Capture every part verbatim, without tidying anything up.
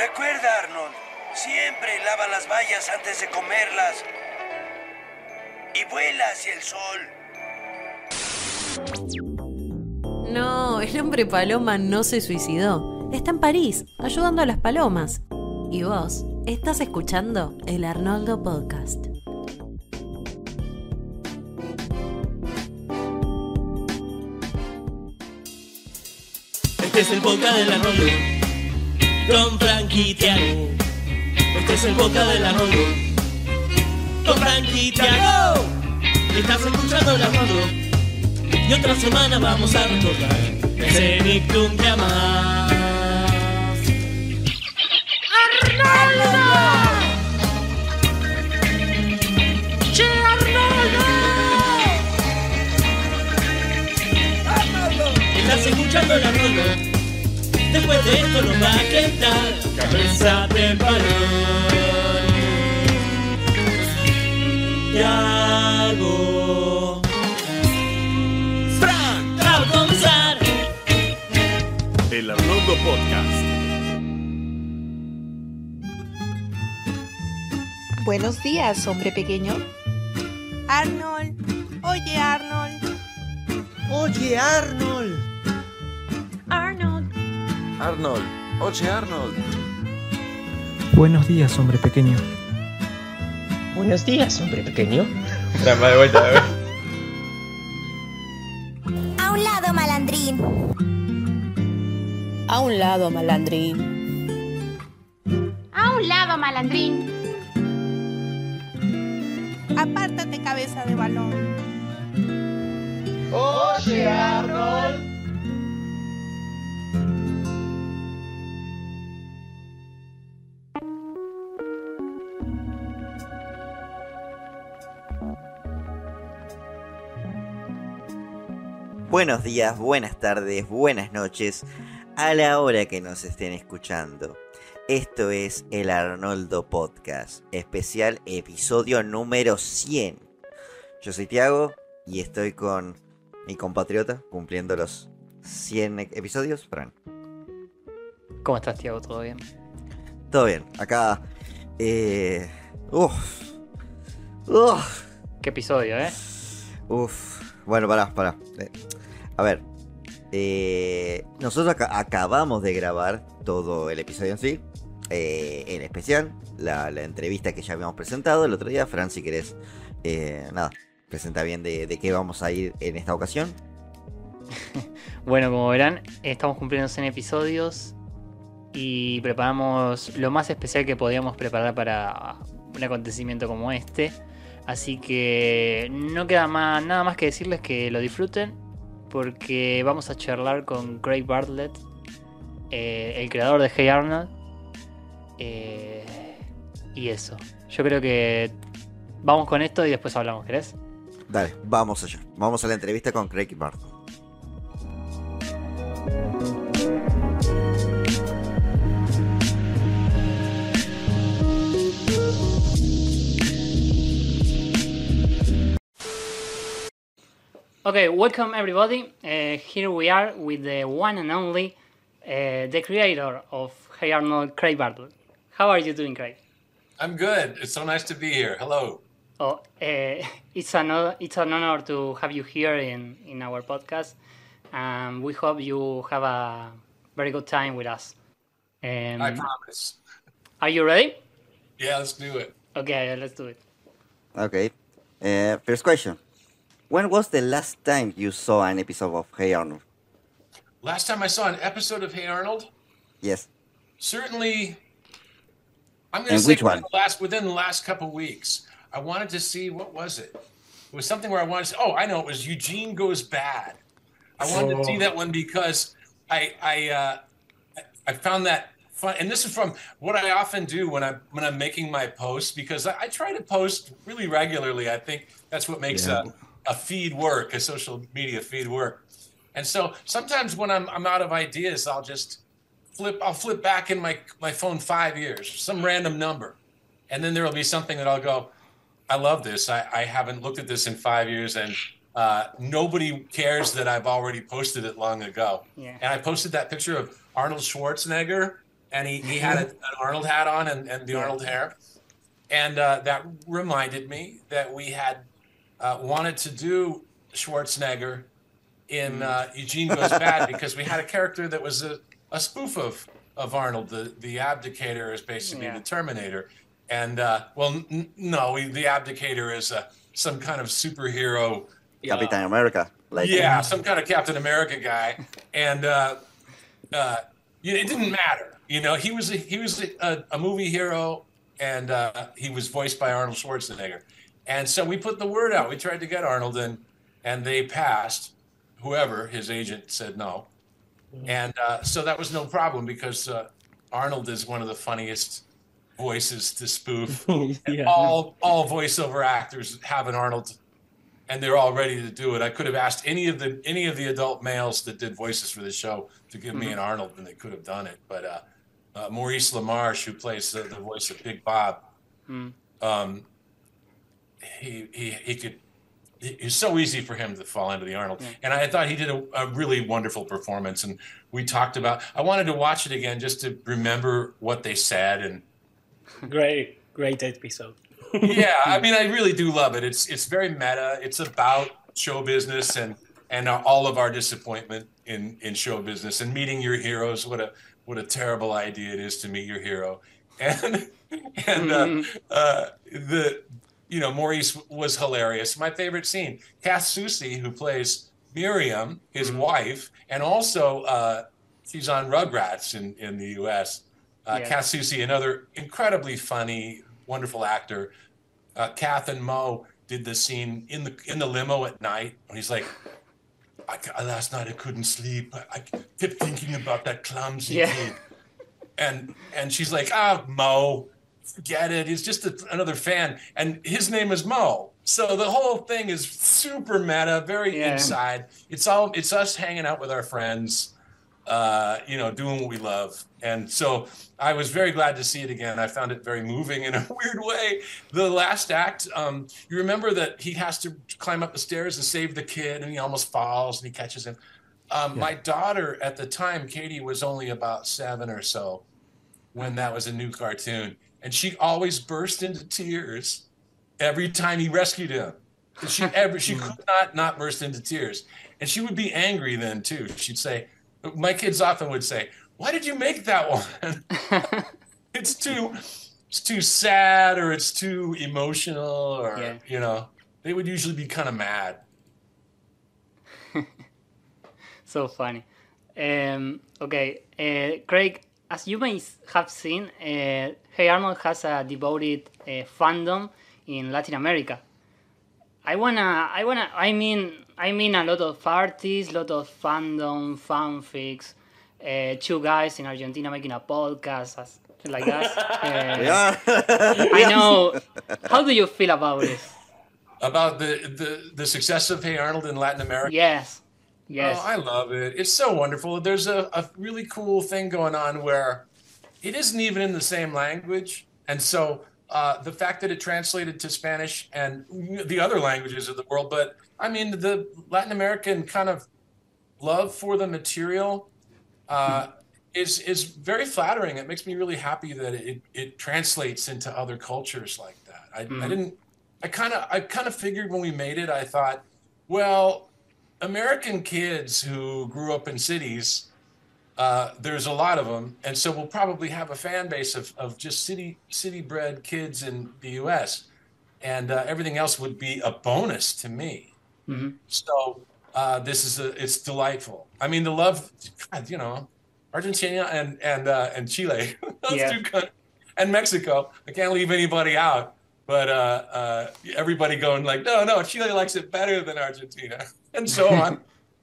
Recuerda, Arnold, siempre lava las bayas antes de comerlas. Y vuela hacia el sol. No, el hombre paloma no se suicidó. Está en París, ayudando a las palomas. Y vos, estás escuchando el Arnoldo Podcast. Este es el podcast del Arnoldo, con Frankie y Tiago. Este es el podcast del Arnoldo, con Frankie y Tiago. Estás escuchando el Arnoldo, y otra semana vamos a recordar ese Nick de un día más. ¡Arnoldo! ¡Che, Arnoldo! ¡Arnoldo! Estás escuchando el Arnoldo. Después de esto nos va a quedar cabeza de balón. Tiago, Fran, va a comenzar el Arnoldo Podcast. Buenos días, hombre pequeño. Arnold, oye Arnold. Oye Arnold. Arnold. Arnold, oye Arnold. Buenos días, hombre pequeño. Buenos días, hombre pequeño. Trampa de vuelta, a ver. A un lado, malandrín. A un lado, malandrín. A un lado, malandrín. Apártate, cabeza de balón. Oye Arnold. Buenos días, buenas tardes, buenas noches, a la hora que nos estén escuchando. Esto es el Arnoldo Podcast, especial episodio número cien. Yo soy Tiago y estoy con mi compatriota cumpliendo los cien episodios, Fran. ¿Cómo estás, Tiago? ¿Todo bien? Todo bien, acá... Eh... Uf. Uf. ¿Qué episodio, eh? Uf. Bueno, pará, pará. Eh, a ver. Eh, nosotros ac- acabamos de grabar todo el episodio en sí. Eh, en especial, la, la entrevista que ya habíamos presentado el otro día. Fran, si querés, eh, nada, presenta bien de, de qué vamos a ir en esta ocasión. Bueno, como verán, estamos cumpliendo cien episodios y preparamos lo más especial que podíamos preparar para un acontecimiento como este. Así que no queda más, nada más que decirles que lo disfruten, porque vamos a charlar con Craig Bartlett, eh, el creador de Hey Arnold. Eh, y eso, yo creo que vamos con esto y después hablamos, ¿querés? Dale, vamos allá. Vamos a la entrevista con Craig Bartlett. Okay, welcome everybody. Uh, here we are with the one and only, uh, the creator of Hey Arnold, Craig Bartlett. How are you doing, Craig? I'm good. It's so nice to be here. Hello. Oh, uh, it's an it's an honor to have you here in, in our podcast, and we hope you have a very good time with us. Um, I promise. Are you ready? Yeah, let's do it. Okay, let's do it. Okay. Uh, first question. When was the last time you saw an episode of Hey Arnold? Last time I saw an episode of Hey Arnold? Yes. Certainly, I'm going to And say which within one? the, last, within the last couple weeks. I wanted to see, what was it? It was something where I wanted to see, oh, I know, it was Eugene Goes Bad. I wanted Oh. to see that one because I I uh, I found that fun. And this is from what I often do when I'm, when I'm making my posts, because I, I try to post really regularly. I think that's what makes Yeah. a a feed work, a social media feed work. And so sometimes when I'm I'm out of ideas, I'll just flip I'll flip back in my my phone five years, some random number. And then there'll be something that I'll go, I love this. I, I haven't looked at this in five years and uh, nobody cares that I've already posted it long ago. Yeah. And I posted that picture of Arnold Schwarzenegger and he, he had a, an Arnold hat on and, and the Arnold hair. And uh, that reminded me that we had uh, wanted to do Schwarzenegger in uh, Eugene Goes Bad because we had a character that was a, a spoof of, of Arnold. The, the Abdicator is basically Yeah. the Terminator. And, uh, well, n- no, we, the Abdicator is uh, some kind of superhero. Captain America. Like Yeah, some kind of Captain America guy. And uh, uh, you know, it didn't matter. You know, he was a, he was a, a movie hero, and uh, he was voiced by Arnold Schwarzenegger. And so we put the word out. We tried to get Arnold in, and they passed. Whoever, his agent, said no. And uh, so that was no problem because uh, Arnold is one of the funniest voices to spoof. And Yeah. all all voiceover actors have an Arnold, and they're all ready to do it. I could have asked any of the any of the adult males that did voices for the show to give me Mhm. an Arnold, and they could have done it. But uh, uh, Maurice LaMarche, who plays the, the voice of Big Bob, Mm. um, he he he could. It's so easy for him to fall into the Arnold, Yeah. and I thought he did a, a really wonderful performance. And we talked about. I wanted to watch it again just to remember what they said and. Great, great episode. Yeah, I mean, I really do love it. It's it's very meta. It's about show business and and all of our disappointment in in show business and meeting your heroes. What a what a terrible idea it is to meet your hero. And and uh, uh, the you know Maurice was hilarious. My favorite scene, Kath Soucie, who plays Miriam, his wife, and also uh, she's on Rugrats in in the U S Uh, Yeah. Kath Soucie, another incredibly funny, wonderful actor. Uh, Kath and Mo did the scene in the in the limo at night when he's like, I, ca- "Last night I couldn't sleep. I, I kept thinking about that clumsy Yeah. kid." And and she's like, "Ah, Mo, forget it. He's just a, another fan." And his name is Mo. So the whole thing is super meta, very Yeah. inside. It's all it's us hanging out with our friends, uh, you know, doing what we love. And so I was very glad to see it again. I found it very moving in a weird way. The last act, um, you remember that he has to climb up the stairs and save the kid, and he almost falls, and he catches him. Um, My daughter at the time, Katie, was only about seven or so when that was a new cartoon, and she always burst into tears every time he rescued him. She ever she could not not burst into tears, and she would be angry then too. She'd say, my kids often would say, "Why did you make that one? It's too, it's too sad, or it's too emotional, or Yeah. you know." They would usually be kind of mad. So funny. Um, okay, uh, Craig, as you may s- have seen, uh, Hey Arnold has a devoted uh, fandom in Latin America. I wanna, I wanna, I mean, I mean a lot of artists, lot of fandom, fanfics, uh, two guys in Argentina making a podcast as, like us. Uh, Yeah. I know. How do you feel about this? About the, the, the success of Hey Arnold in Latin America? Yes. Yes. Oh, I love it. It's so wonderful. There's a, a really cool thing going on where it isn't even in the same language. And so uh, the fact that it translated to Spanish and the other languages of the world, but I mean, the Latin American kind of love for the material uh, is is very flattering. It makes me really happy that it, it translates into other cultures like that. I, I didn't, I kind of, I kind of figured when we made it, I thought, well, American kids who grew up in cities, uh, there's a lot of them, and so we'll probably have a fan base of, of just city city bred kids in the U S, and uh, everything else would be a bonus to me. Mhm. So uh, this is a, it's delightful. I mean, the love, God, you know, Argentina and and uh, and Chile, those Yeah. two countries, and Mexico. I can't leave anybody out. But uh, uh, everybody going like, no, no, Chile likes it better than Argentina, and so on.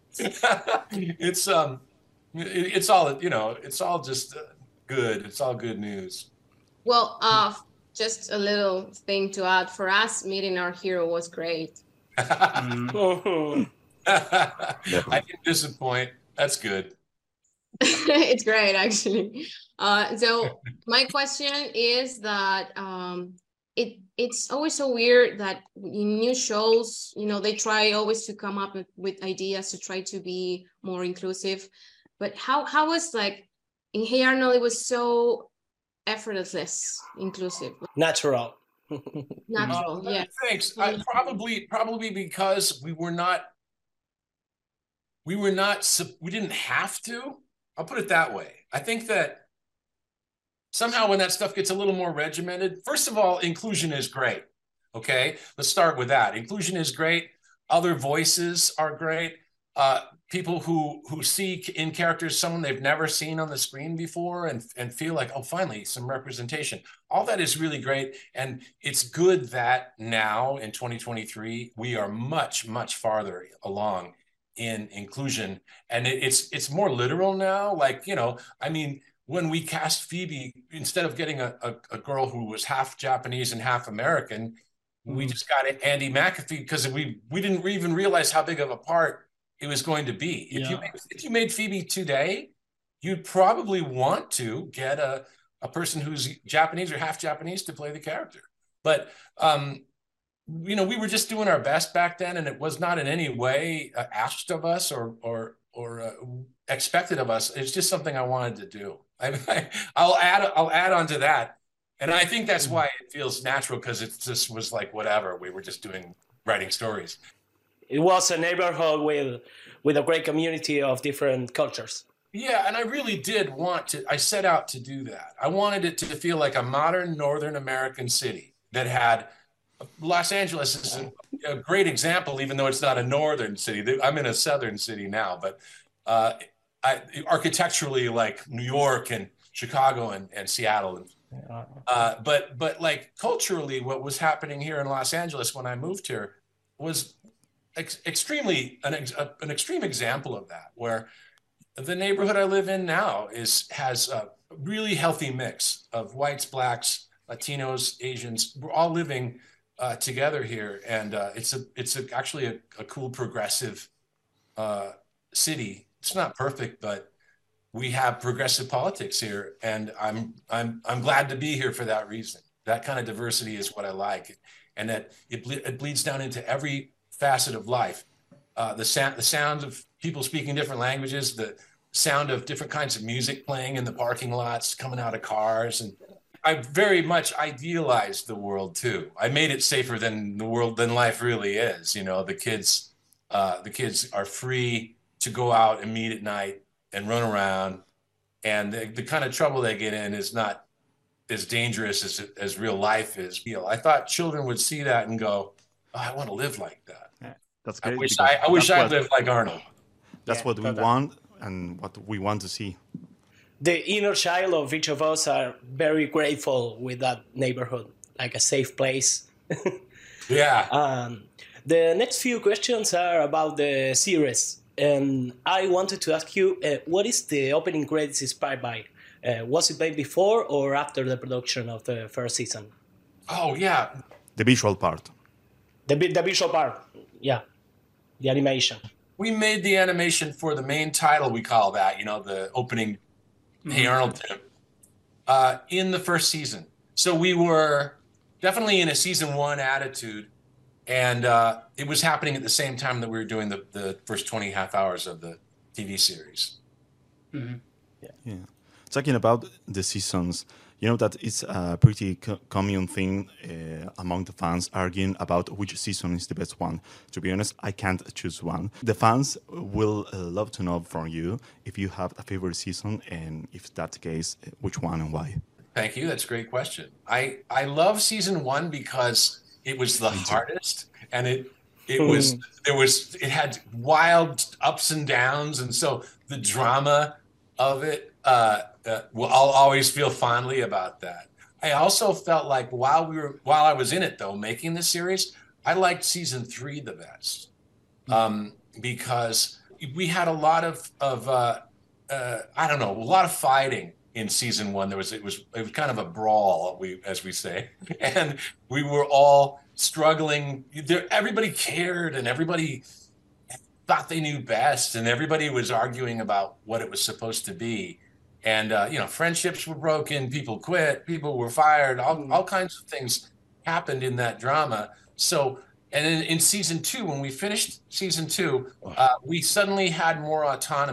it's um, it, it's all you know. It's all just uh, good. It's all good news. Well, uh, just a little thing to add for us. Meeting our hero was great. I can disappoint. That's good. It's great, actually. Uh, so my question is that um, it it's always so weird that in new shows, you know, they try always to come up with, with ideas to try to be more inclusive. But how how was like in Hey Arnold, it was so effortless, inclusive, Natural. natural. Uh, Yeah. Thanks. I, probably, probably because we were not, we were not, sup- we didn't have to. I'll put it that way. I think that somehow when that stuff gets a little more regimented, first of all, inclusion is great. Okay, let's start with that. Inclusion is great. Other voices are great. Uh, people who who see in characters someone they've never seen on the screen before and, and feel like, oh, finally, some representation. All that is really great. And it's good that now in twenty twenty-three, we are much, much farther along in inclusion. And it, it's it's more literal now. Like, you know, I mean, when we cast Phoebe, instead of getting a, a, a girl who was half Japanese and half American, we just got Andy McAfee because we we didn't even realize how big of a part it was going to be. If Yeah. you made, if you made Phoebe today, you'd probably want to get a, a person who's Japanese or half Japanese to play the character. But um, you know, we were just doing our best back then, and it was not in any way uh, asked of us or or or uh, expected of us. It's just something I wanted to do. I, I I'll add I'll add on to that. And I think that's why it feels natural, because it just was like whatever. We were just doing writing stories. It was a neighborhood with with a great community of different cultures. Yeah, and I really did want to. I set out to do that. I wanted it to feel like a modern Northern American city that had. Los Angeles is a, a great example, even though it's not a northern city. I'm in a southern city now, but uh, I, architecturally, like New York and Chicago and, and Seattle and. Uh, but but like culturally, what was happening here in Los Angeles when I moved here was ex- extremely an, ex- a, an extreme example of that. Where the neighborhood I live in now is has a really healthy mix of whites, blacks, Latinos, Asians. We're all living uh, together here, and uh, it's a it's a, actually a, a cool progressive uh, city. It's not perfect, but we have progressive politics here, and I'm I'm I'm glad to be here for that reason. That kind of diversity is what I like, and that it ble- it bleeds down into every facet of life. Uh, the sound the sound of people speaking different languages, the sound of different kinds of music playing in the parking lots, coming out of cars, and I very much idealized the world too. I made it safer than the world than life really is. You know, the kids uh, the kids are free to go out and meet at night and run around, and the, the kind of trouble they get in is not as dangerous as as real life is. You know, I thought children would see that and go, oh, I want to live like that. Yeah, that's I great. wish because I, I wish that's I what- lived like Arnold. That's Yeah, what we totally. want and what we want to see. The inner child of each of us are very grateful with that neighborhood, like a safe place. Yeah. Um, the next few questions are about the series. And I wanted to ask you, uh, what is the opening credits inspired by? Uh, was it made before or after the production of the first season? Oh yeah. The visual part. The, vi- the visual part, yeah, the animation. We made the animation for the main title, we call that, you know, the opening Hey Arnold tip, uh, in the first season. So we were definitely in a season one attitude, and uh, it was happening at the same time that we were doing the, the first twenty half hours of the T V series. Yeah. Talking about the seasons, you know that it's a pretty co- common thing uh, among the fans arguing about which season is the best one. To be honest, I can't choose one. The fans will uh, love to know from you if you have a favorite season, and if that's the case, uh, which one and why. Thank you. That's a great question. I, I love season one because it was the hardest, and it it was there was it had wild ups and downs, and so the drama of it. Uh, uh, well, I'll always feel fondly about that. I also felt like while we were while I was in it though, making the series, I liked season three the best um, because we had a lot of of uh, uh, I don't know a lot of fighting in season one. There was it was it was kind of a brawl, we as we say, and we were all struggling. There, everybody cared, and everybody thought they knew best, and everybody was arguing about what it was supposed to be. And, uh, you know, friendships were broken, people quit, people were fired, all, all kinds of things happened in that drama. So, and in, in season two, when we finished season two, uh, we suddenly had more autonomy.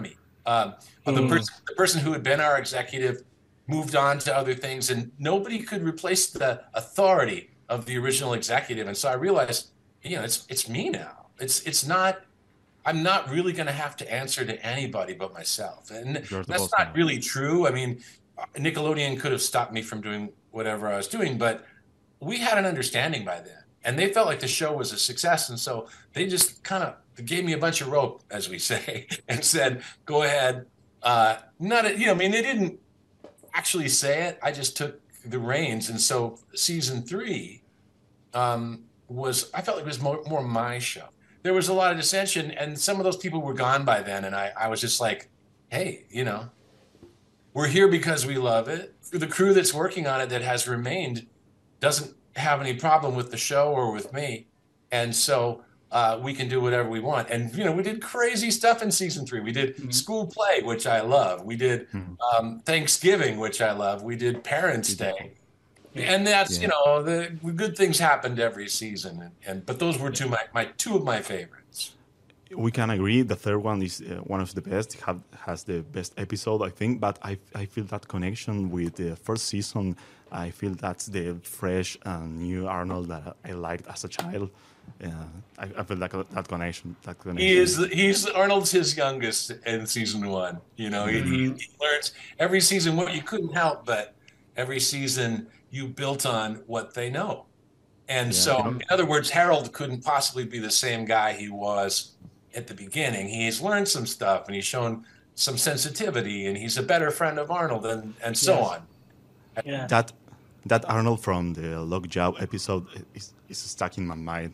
Um, but the, Mm. person, the person who had been our executive moved on to other things, and nobody could replace the authority of the original executive. And so I realized, you know, it's it's me now. It's it's not. I'm not really going to have to answer to anybody but myself, and You're the that's boss not now. really true. I mean, Nickelodeon could have stopped me from doing whatever I was doing, but we had an understanding by then, and they felt like the show was a success, and so they just kind of gave me a bunch of rope, as we say, and said, "Go ahead." Uh, not, you know, I mean, they didn't actually say it. I just took the reins, and so season three um, was, I felt like it was more, more my show. There was a lot of dissension, and some of those people were gone by then, and I, I was just like, hey, you know, we're here because we love it. The crew that's working on it that has remained doesn't have any problem with the show or with me, and so uh, we can do whatever we want. And, you know, we did crazy stuff in season three. We did mm-hmm. school play, which I love. We did um, Thanksgiving, which I love. We did Parents' Day. And that's, yeah. you know, the good things happened every season. And, and but those were two my, my two of my favorites. We can agree. The third one is uh, one of the best. It have, has the best episode, I think. But I I feel that connection with the first season. I feel that's the fresh and new Arnold that I liked as a child. Uh, I, I feel like that connection. That connection. He is. He's Arnold's his youngest in season one. You know, mm-hmm. he, he learns every season what you couldn't help, but every season you built on what they know. And yeah, so, in other words, Harold couldn't possibly be the same guy he was at the beginning. He's learned some stuff, and he's shown some sensitivity, and he's a better friend of Arnold, and, and so yes. on. Yeah. That that Arnold from the Lockjaw episode is, is stuck in my mind.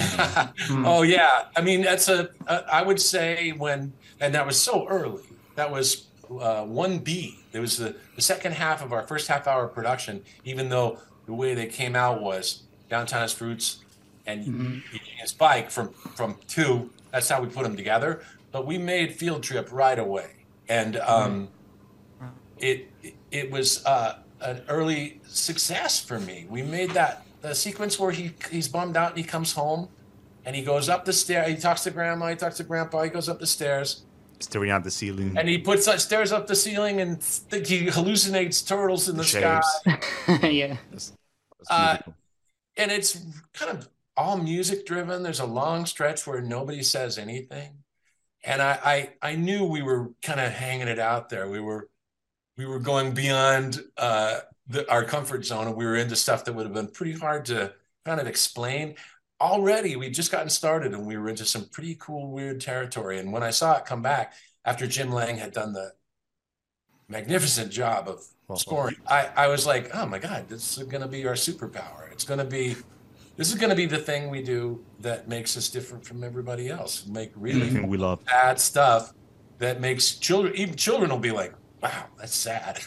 Oh, yeah. I mean, that's a, a, I would say when, and that was so early, that was uh, one B. It was the, the second half of our first half hour production, even though the way they came out was Downtown as Fruits and mm-hmm. his bike from, from two. That's how we put them together. But we made Field Trip right away. And um, mm-hmm. it, it was uh, an early success for me. We made that the sequence where he he's bummed out and he comes home and he goes up the stair. He talks to grandma, he talks to grandpa, he goes up the stairs. Staring at the ceiling. And he puts uh, stares up the ceiling and th- he hallucinates turtles in the, the sky. yeah. That's, that's uh, and it's kind of all music driven. There's a long stretch where nobody says anything. And I, I, I knew we were kind of hanging it out there. We were, we were going beyond uh, the, our comfort zone, and we were into stuff that would have been pretty hard to kind of explain. Already, we'd just gotten started, and we were into some pretty cool, weird territory. And when I saw it come back, after Jim Lang had done the magnificent job of well, scoring, well. I, I was like, oh my God, this is going to be our superpower. It's going to be, this is going to be the thing we do that makes us different from everybody else. Make really mm-hmm. we love bad stuff that makes children, even children will be like, wow, that's sad.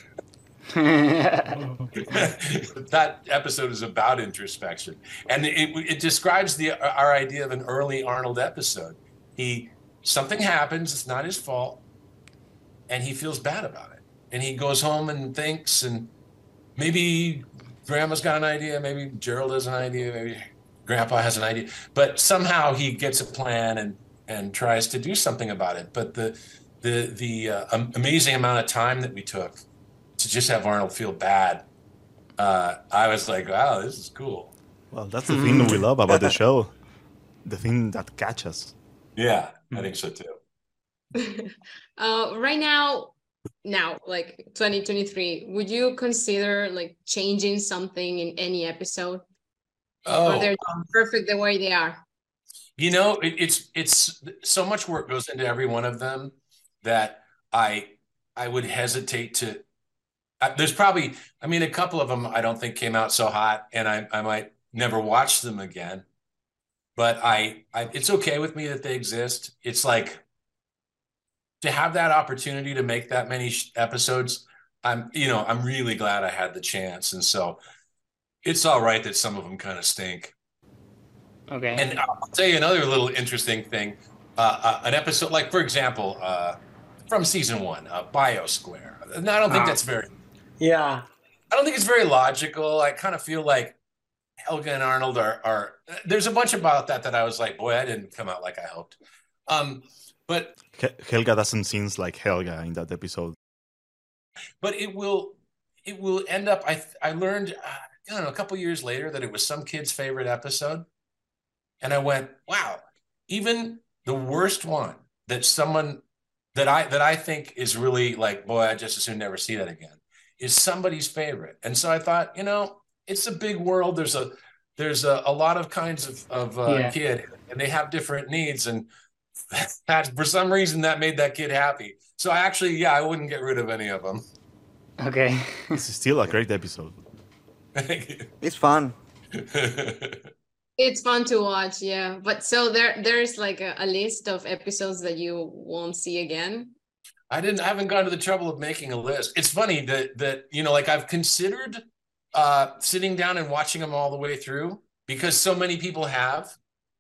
That episode is about introspection, and it, it describes the our idea of an early Arnold episode. He something happens, it's not his fault, and he feels bad about it, and he goes home and thinks, and maybe grandma's got an idea, maybe Gerald has an idea, maybe grandpa has an idea, but somehow he gets a plan and and tries to do something about it. But the the the uh, amazing amount of time that we took to just have Arnold feel bad, uh, I was like, wow, this is cool. Well, that's the thing we love about the show. The thing that catches. Yeah, I think so too. uh, right now, now, like twenty twenty-three, would you consider like changing something in any episode? Oh, or they're perfect the way they are? You know, it, it's it's so much work goes into every one of them that I I would hesitate to. Uh, there's probably, I mean, a couple of them I don't think came out so hot, and I, I might never watch them again. But I, I, it's okay with me that they exist. It's like to have that opportunity to make that many sh- episodes. I'm, you know, I'm really glad I had the chance, and so it's all right that some of them kind of stink. Okay. And I'll tell you another little interesting thing. Uh, uh, an episode, like for example, uh, from season one, uh, Biosquare. And I don't think ah. that's very. Yeah. I don't think it's very logical. I kind of feel like Helga and Arnold are, are, there's a bunch about that that I was like, boy, that didn't come out like I hoped. Um, But Helga doesn't seem like Helga in that episode. But it will, it will end up. I I learned, uh, I don't know, a couple years later that it was some kid's favorite episode, and I went, wow, even the worst one that someone that I that I think is really like, boy, I just as soon never see that again, is somebody's favorite. And so I thought, you know, it's a big world. There's a there's a, a lot of kinds of of uh, Yeah. kid, and they have different needs, and that for some reason that made that kid happy. So I actually, yeah, I wouldn't get rid of any of them. Okay. It's still a great episode. It's fun. It's fun to watch, yeah. But so there there's like a, a list of episodes that you won't see again. I didn't I haven't gone to the trouble of making a list. It's funny that that you know, like I've considered uh sitting down and watching them all the way through because so many people have.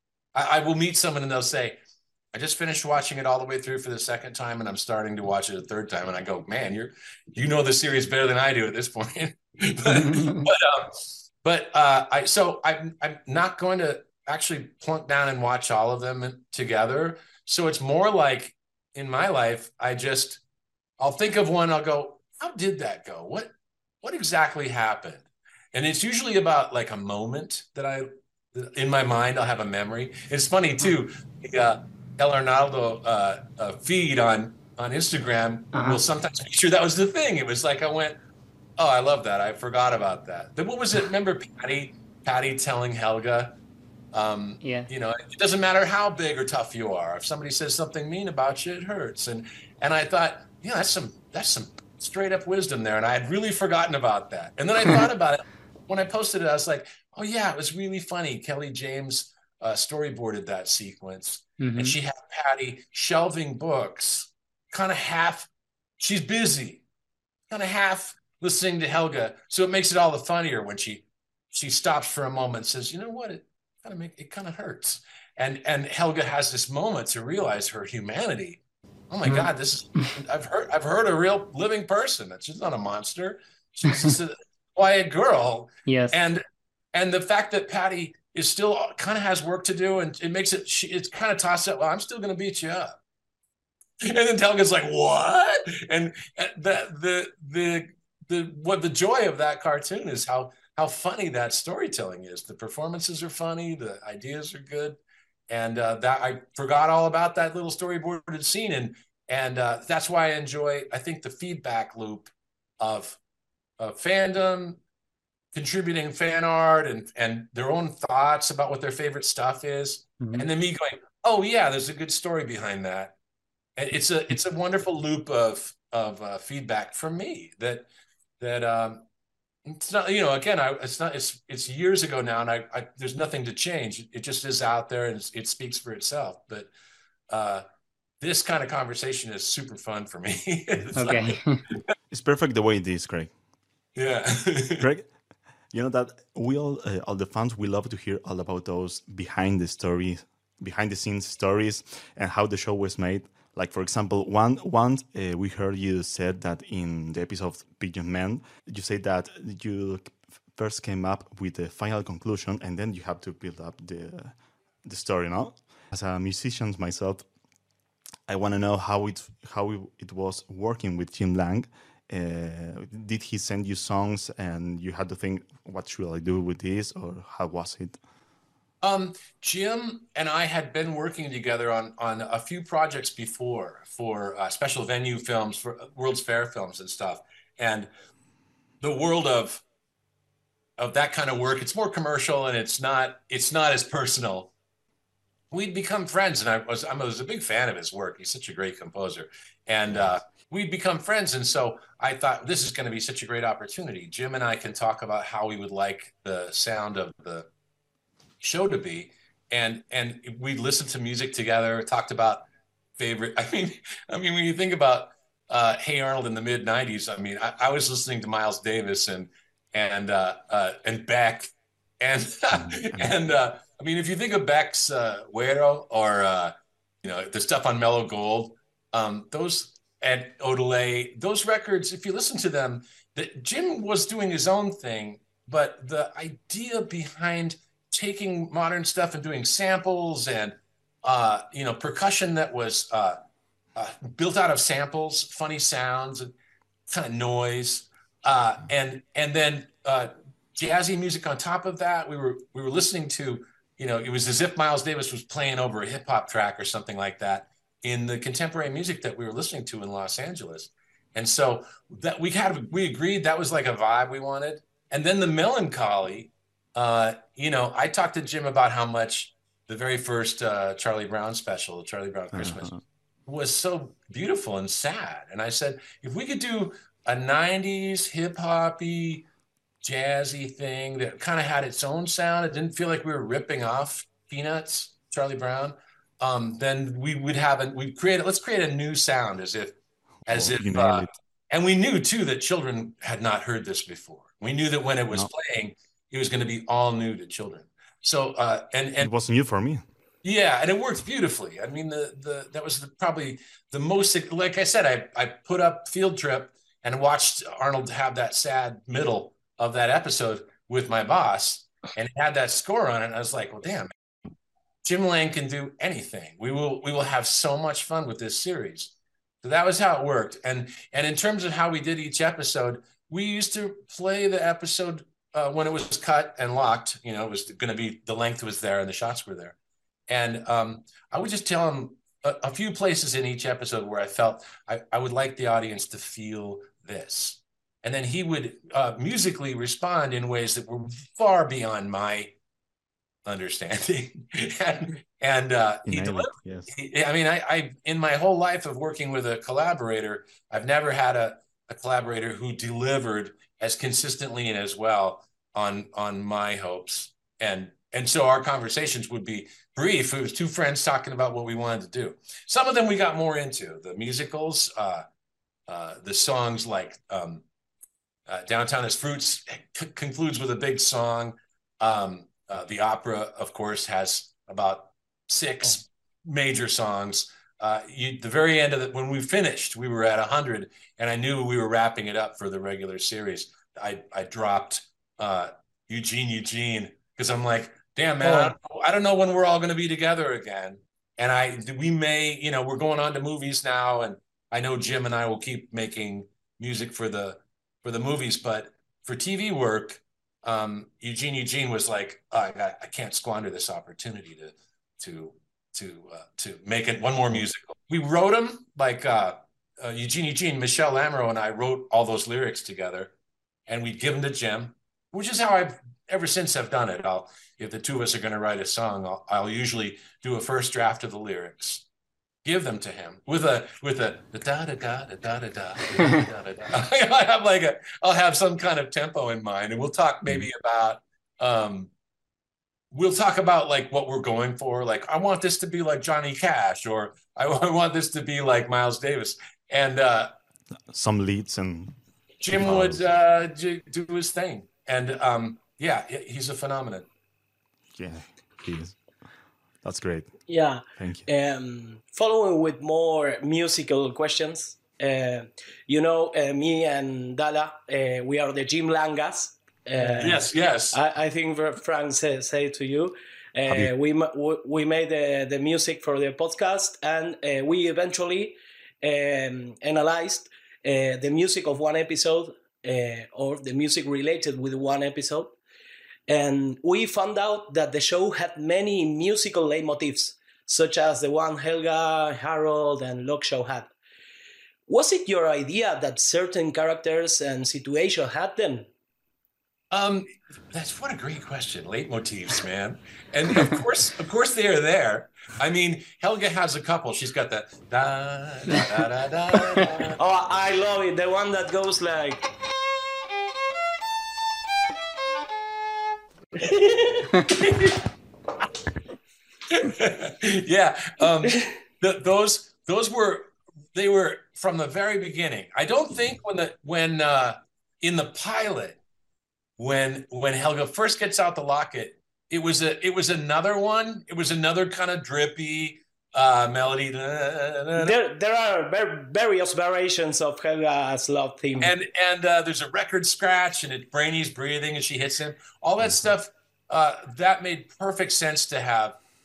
I, I will meet someone and they'll say, I just finished watching it all the way through for the second time and I'm starting to watch it a third time. And I go, man, you're you know the series better than I do at this point. but but, um, but uh I so I'm I'm not going to actually plunk down and watch all of them together. So it's more like in my life, I just I'll think of one, I'll go, how did that go? What what exactly happened? And it's usually about like a moment that I in my mind, I'll have a memory. It's funny too. The, uh, El Arnaldo uh, uh, feed on on Instagram Uh-huh. will sometimes feature that was the thing. It was like I went, oh, I love that. I forgot about that. Then what was it? Remember Patty Patty telling Helga, um, Yeah. you know, it doesn't matter how big or tough you are. If somebody says something mean about you, it hurts. And and I thought, yeah, that's some that's some straight up wisdom there. And I had really forgotten about that. And then I thought about it when I posted it. I was like, oh yeah, it was really funny. Kelly James uh, storyboarded that sequence. Mhm. And she had Patty shelving books, kind of half, she's busy, kind of half listening to Helga. So it makes it all the funnier when she she stops for a moment and says, you know what, it kind of make it kind of hurts. And and Helga has this moment to realize her humanity. Oh my Mhm. God, this is I've heard I've heard a real living person. She's not a monster. She's just a quiet girl. Yes. And and the fact that Patty is still kind of has work to do, and it makes it she it's kind of tossed up. Well, I'm still going to beat you up, and then Helga's like, "What?" And the the the the what the joy of that cartoon is how how funny that storytelling is. The performances are funny, the ideas are good, and uh, that I forgot all about that little storyboarded scene, and and uh, that's why I enjoy. I think the feedback loop of of fandom, contributing fan art and and their own thoughts about what their favorite stuff is, Mhm. and then me going, oh yeah, there's a good story behind that. And it's a it's a wonderful loop of of uh, feedback from me that that um it's not, you know, again, I it's not it's it's years ago now, and I, I there's nothing to change. It just is out there, and it's, it speaks for itself. But uh this kind of conversation is super fun for me. It's Okay. like- It's perfect the way it is, Craig. yeah. Greg, you know that we all, uh, all the fans, we love to hear all about those behind the stories, behind the scenes stories, and how the show was made. Like for example, one once uh, we heard you said that in the episode of Pigeon Man, you said that you first came up with the final conclusion, and then you have to build up the the story. No, as a musician myself, I want to know how it how it was working with Jim Lang. Uh, did he send you songs and you had to think, what should I do with this, or how was it? Um, Jim and I had been working together on on a few projects before for uh, special venue films, for World's Fair films and stuff. And the world of of that kind of work, it's more commercial and it's not it's not as personal. We'd become friends, and I was I was a big fan of his work. He's such a great composer, and uh, we'd become friends. And so I thought, this is going to be such a great opportunity. Jim and I can talk about how we would like the sound of the show to be, and and we listened to music together, talked about favorite. I mean, I mean, when you think about uh, Hey Arnold in the mid nineties, I mean, I, I was listening to Miles Davis and and uh, uh, and Beck, and and uh, I mean, if you think of Beck's uh, Güero or uh, you know, the stuff on Mellow Gold, um, those and Odelay, those records, if you listen to them, that Jim was doing his own thing, but the idea behind taking modern stuff and doing samples and uh, you know, percussion that was uh, uh, built out of samples, funny sounds, and kind of noise, uh, and and then uh, jazzy music on top of that. We were we were listening to, you know, it was as if Miles Davis was playing over a hip hop track or something like that in the contemporary music that we were listening to in Los Angeles. And so that we had, we agreed that was like a vibe we wanted. And then the melancholy, uh, you know, I talked to Jim about how much the very first uh, Charlie Brown special, Charlie Brown Christmas, uh-huh. was so beautiful and sad. And I said, if we could do a nineties hip hoppy, jazzy thing that kind of had its own sound, it didn't feel like we were ripping off Peanuts, Charlie Brown, um, then we would have a, we create, let's create a new sound as if, as oh, if, uh, and we knew too that children had not heard this before. We knew that when it was no. playing, it was going to be all new to children. So, uh, and, and it was new for me. Yeah, and it worked beautifully. I mean, the the that was the, probably the most, like I said, I, I put up Field Trip and watched Arnold have that sad middle of that episode with my boss, and it had that score on it. And I was like, well, damn, Jim Lang can do anything. We will we will have so much fun with this series. So that was how it worked. And and in terms of how we did each episode, we used to play the episode uh, when it was cut and locked. You know, it was going to be, the length was there and the shots were there. And um, I would just tell him a, a few places in each episode where I felt I, I would like the audience to feel this. And then he would uh, musically respond in ways that were far beyond my understanding. and and uh, he delivered. Yes. He, I mean, I, I, in my whole life of working with a collaborator, I've never had a, a collaborator who delivered as consistently and as well on, on my hopes. And And so our conversations would be brief. It was two friends talking about what we wanted to do. Some of them we got more into. The musicals, uh, uh, the songs like um, uh, Downtown is Fruits c- concludes with a big song. Um, uh, the opera, of course, has about six major songs. Uh, you, the very end of it, when we finished, we were at one hundred, and I knew we were wrapping it up for the regular series. I, I dropped uh, Eugene, Eugene, because I'm like, damn, man, oh. I, don't, I don't know when we're all going to be together again. And I, we may, you know, we're going on to movies now, and I know Jim and I will keep making music for the for the movies, but for T V work, um, Eugene Eugene was like, oh, I got, I can't squander this opportunity to to to uh, to make it one more musical. We wrote them like uh, uh, Eugene Eugene, Michelle Lamoureux and I wrote all those lyrics together, and we'd give them to Jim, which is how I've ever since I've done it. I'll, if the two of us are going to write a song, I'll, I'll usually do a first draft of the lyrics, give them to him with a with a da da da da da da da da da. I have like a, I'll have some kind of tempo in mind, and we'll talk maybe about, um, we'll talk about like what we're going for. Like, I want this to be like Johnny Cash, or I, I want this to be like Miles Davis, and uh, some leads, and Jim would uh, do his thing, and um, yeah, he's a phenomenon. Yeah, he is. That's great. Yeah. Thank you. Um, following with more musical questions, uh, you know, uh, me and Dala, uh, we are the Jim Langas. Uh, yes, yes. I, I think Frank say, say to you, uh, we we made the, the music for the podcast, and uh, we eventually um, analyzed uh, the music of one episode, uh, or the music related with one episode. And we found out that the show had many musical leitmotifs, such as the one Helga, Harold, and Log Show had. Was it your idea that certain characters and situations had them? Um, that's what a great question. Leitmotifs, man. And of course, of course they are there. I mean, Helga has a couple. She's got the da da da da da. da. Oh, I love it. The one that goes like. yeah, um, the, those those were they were from the very beginning. I don't think when the when uh, in the pilot when when Helga first gets out the locket, it was a it was another one. It was another kind of drippy uh, melody. There there are various variations of Helga's love theme, and and uh, there's a record scratch, and it Brainy's breathing, and she hits him. All that stuff uh, that made perfect sense to have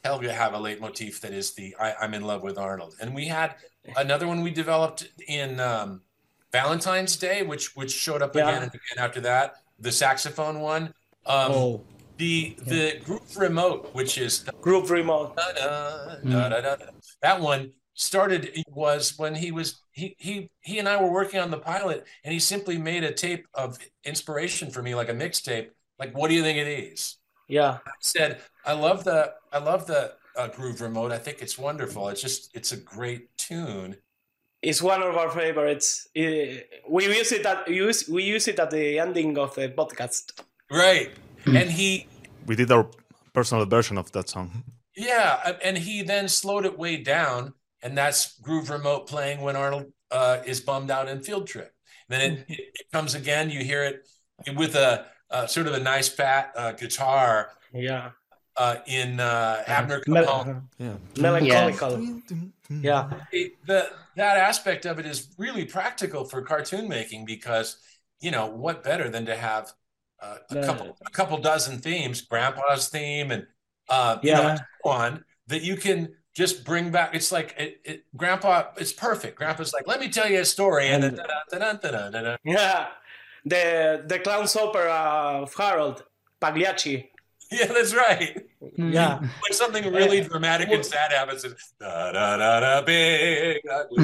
Helga have a leitmotif that is the I, I'm in love with Arnold. And we had another one we developed in um, Valentine's Day, which which showed up Yeah. again and again after that. The saxophone one. Um, Oh. The the group remote, which is Group remote. da, da, da, da, da, da. That one started was when he was he he he and I were working on the pilot, and he simply made a tape of inspiration for me, like a mixtape. Like, what do you think of these? Yeah. I said, I love the I love the uh, groove remote. I think it's wonderful. It's just it's a great tune. It's one of our favorites. Eh, We use it at use we use it at the ending of the podcast. Right. And he We did our personal version of that song. yeah, and he then slowed it way down, and that's groove remote playing when Arnold uh, is bummed out in Field Trip. Then it, it, it comes again. You hear it with a uh, sort of a nice fat uh, guitar. Yeah. Uh, in uh, Abner Mel- Capone. Yeah. Melancholical. Yeah. It- the that aspect of it is really practical for cartoon making because you know what better than to have uh, a Yeah. couple a couple dozen themes, Grandpa's theme and uh, you Yeah. know, so on that you can just bring back. It's like it, it, Grandpa. It's perfect. Grandpa's like, let me tell you a story, and then, da-da-da-da-da-da-da. Yeah. The the clown's opera of Harold Pagliacci. Yeah, that's right. Yeah. When something really Uh, dramatic and sad happens, it's da da da da big.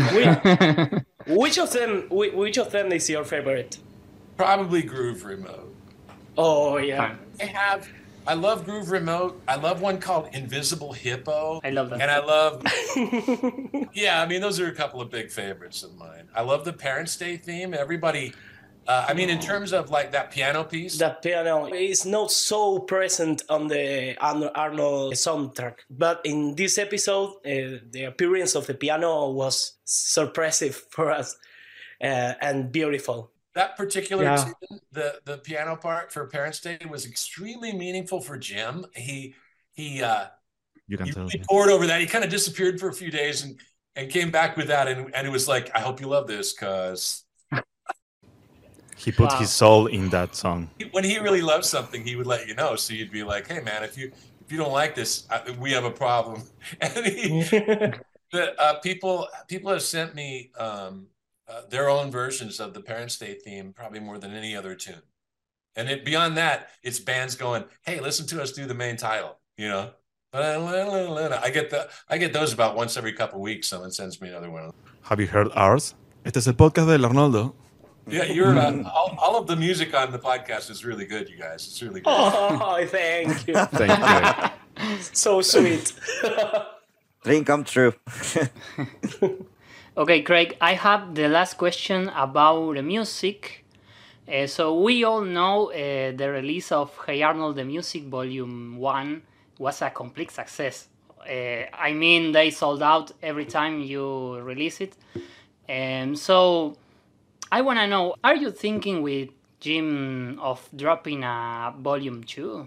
Which of them whi- which of them is your favorite? Probably Groove Remote. Oh yeah. I have. I love Groove Remote. I love one called Invisible Hippo. I love that. And I love. Yeah, I mean those are a couple of big favorites of mine. I love the Parents' Day theme. Everybody. Uh, I mean, in terms of like that piano piece. That piano is not so present on the Arno- Arnold soundtrack, but in this episode, uh, the appearance of the piano was surprising for us uh, and beautiful. That particular Yeah. tune, the the piano part for Parents' Day was extremely meaningful for Jim. He he uh, You can he tell. really poured over that. He kind of disappeared for a few days and and came back with that, and and it was like, I hope you love this, cause He put Wow. his soul in that song. when he really loves something, he would let you know. So you'd be like, hey man, if you if you don't like this, I, we have a problem. And he, the uh, people people have sent me um, uh, their own versions of the Parents' Day theme, probably more than any other tune. And it, beyond that, it's bands going, hey, listen to us do the main title. You know, I get the I get those about once every couple of weeks. Someone sends me another one. Have you heard ours? Este es el podcast del Arnoldo. Yeah, you're uh, all, all of the music on the podcast is really good, you guys. It's really good. Oh, thank you. Thank you. So sweet. Dream come true. Okay, Craig, I have the last question about the music. Uh, so we all know uh, the release of Hey Arnold the Music Volume one was a complete success. Uh, I mean, they sold out every time you release it. And so I want to know, are you thinking with Jim of dropping a Volume two?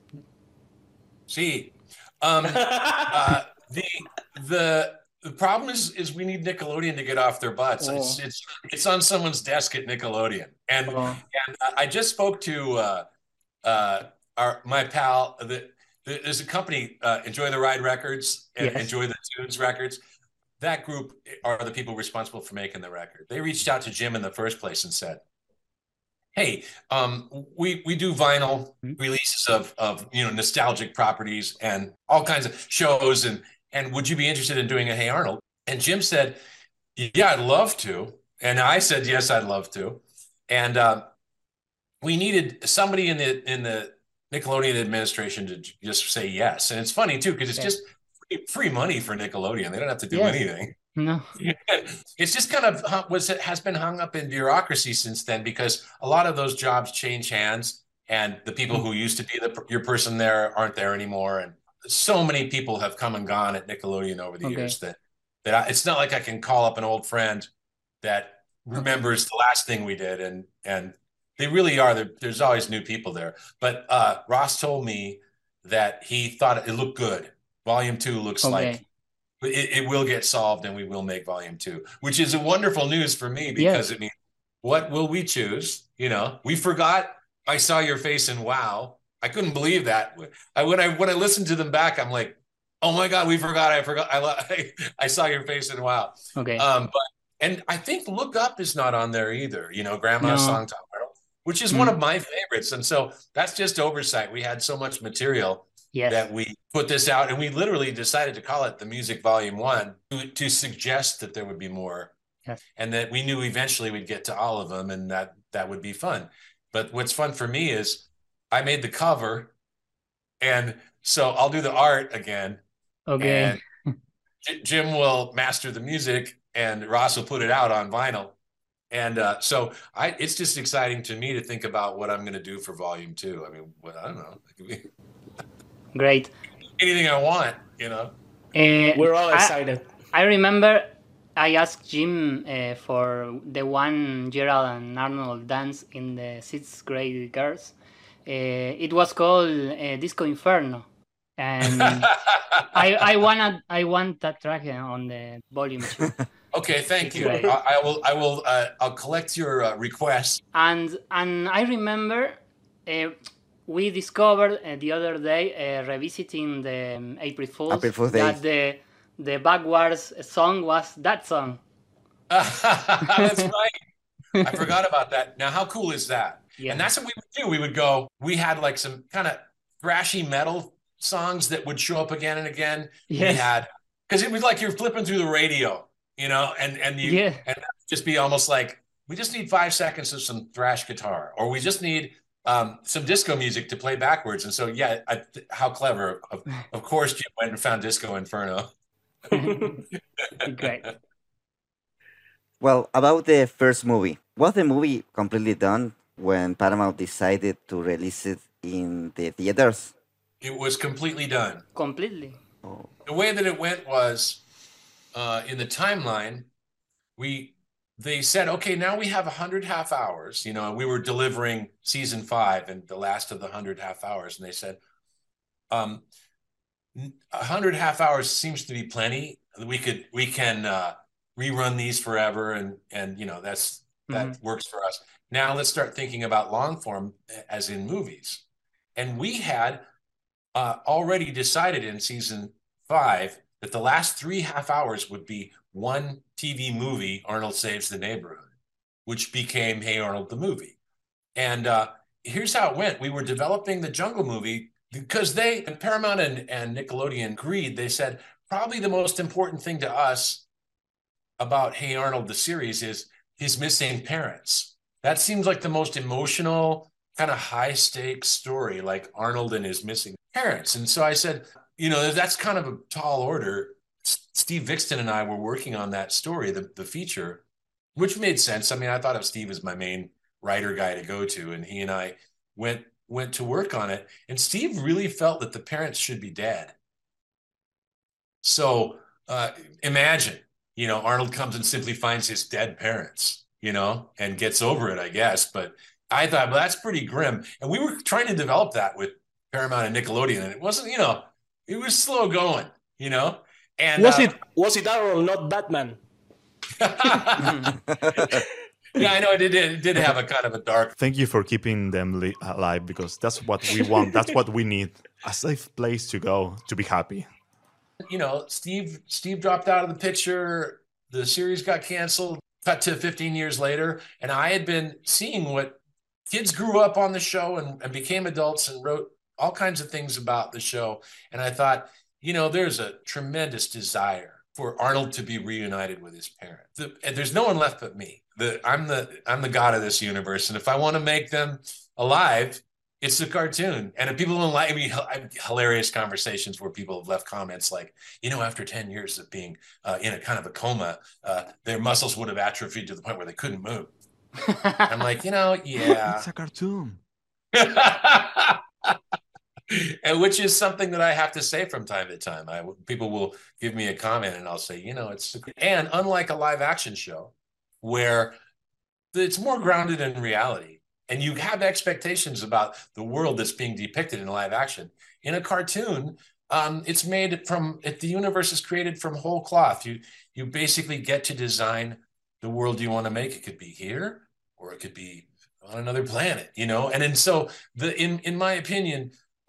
See, um, uh, the the the problem is is we need Nickelodeon to get off their butts. Oh. It's it's it's on someone's desk at Nickelodeon, and Oh. and I just spoke to uh, uh, our my pal. The, the, there's a company, uh, Enjoy the Ride Records and Yes. Enjoy the Tunes Records. That group are the people responsible for making the record. They reached out to Jim in the first place and said, hey, um, we we do vinyl releases of of you know nostalgic properties and all kinds of shows, and and would you be interested in doing a Hey Arnold? And Jim said, yeah, I'd love to. And I said, yes, I'd love to. And uh, we needed somebody in the in the Nickelodeon administration to j- just say yes. And it's funny too because it's Yeah. just free, free money for Nickelodeon. They don't have to do Yes. anything. No. It's just kind of hung- was has been hung up in bureaucracy since then because a lot of those jobs change hands and the people who used to be the your person there aren't there anymore, and so many people have come and gone at Nickelodeon over the Okay. years that that I, it's not like I can call up an old friend that remembers the last thing we did, and and they really are there, there's always new people there. But uh Ross told me that he thought it looked good. Volume two looks Okay. like it, it will get solved, and we will make volume two, which is a wonderful news for me because it means what will we choose? You know, we forgot I Saw Your Face in WoW. I couldn't believe that. I when I when I listened to them back, I'm like, Oh my God, we forgot. I forgot. I, I, I saw your face and wow. Okay. Um, but and I think Look Up is not on there either. You know, Grandma's No. Song Top Arnold, which is Mm. one of my favorites. And so that's just oversight. We had so much material Yes. that we put this out, and we literally decided to call it the Music Volume One to, to suggest that there would be more, Yes. and that we knew eventually we'd get to all of them, and that that would be fun. But what's fun for me is I made the cover, and so I'll do the art again. Okay. And J- Jim will master the music, and Ross will put it out on vinyl. And uh, so I, it's just exciting to me to think about what I'm going to do for Volume Two. I mean, what, I don't know. It could be Great. anything I want, you know. Uh, We're all I- excited. I remember I asked Jim uh, for the one Gerald and Arnold dance in the sixth grade girls. Uh, it was called uh, Disco Inferno, and I I want I want that track on the volume two. Okay, thank you. Great. I, I will. I will. Uh, I'll collect your uh, request. And and I remember uh, we discovered uh, the other day uh, revisiting the um, April Fools April Fool's Day. that the the backwards song was that song. That's right. I forgot about that. Now, how cool is that? Yeah. And that's what we would do. We would go. We had like some kind of thrashy metal songs that would show up again and again. We Yes. had because it was like you're flipping through the radio, you know, and and you Yeah. and that would just be almost like we just need five seconds of some thrash guitar, or we just need um, some disco music to play backwards. And so, yeah, I, how clever! Of, of course, Jim went and found Disco Inferno. Great. Well, about the first movie, was the movie completely done when Paramount decided to release it in the theaters? It was completely done. Completely. The way that it went was uh, in the timeline, we they said, okay, now we have one hundred half hours. You know, we were delivering season five and the last of the one hundred half hours. And they said, um, one hundred half hours seems to be plenty. We could, we can uh, rerun these forever. And, and you know, that's, that Mhm. works for us. Now let's start thinking about long form as in movies. And we had uh, already decided in season five that the last three half hours would be one T V movie, Arnold Saves the Neighborhood, which became Hey Arnold the movie. And uh, here's how it went. We were developing the Jungle movie because they, Paramount and, and Nickelodeon agreed. They said, probably the most important thing to us about Hey Arnold the series is his missing parents. That seems like the most emotional, kind of high stakes story, like Arnold and his missing parents. And so I said, you know, that's kind of a tall order. S- Steve Vixton and I were working on that story, the, the feature, which made sense. I mean, I thought of Steve as my main writer guy to go to, and he and I went went to work on it. And Steve really felt that the parents should be dead. So uh, imagine, you know, Arnold comes and simply finds his dead parents, you know, and gets over it, I guess. But I thought, well, that's pretty grim. And we were trying to develop that with Paramount and Nickelodeon, and it wasn't, you know, it was slow going, you know. And Was uh, it was it Arnold, not Batman? yeah, I know it did. It did have a kind of a dark. Thank you for keeping them li- alive, because that's what we want. That's what we need. A safe place to go to be happy. You know, Steve Steve dropped out of the picture. The series got canceled. Cut to fifteen years later, and I had been seeing what kids grew up on the show and, and became adults and wrote all kinds of things about the show. And I thought, you know, there's a tremendous desire for Arnold to be reunited with his parents. The, and there's no one left but me. The, I'm the I'm the god of this universe, and if I want to make them alive, it's a cartoon. And if people don't like me, I have hilarious conversations where people have left comments like, you know, after ten years of being uh, in a kind of a coma, uh, their muscles would have atrophied to the point where they couldn't move. I'm like, you know, yeah. It's a cartoon. And which is something that I have to say from time to time. I people will give me a comment and I'll say, you know, it's and unlike a live action show where it's more grounded in reality and you have expectations about the world that's being depicted in live action. In a cartoon, um, it's made from it, the universe is created from whole cloth. You you basically get to design the world you want to make. It could be here or it could be on another planet, you know. And and so the in in my opinion.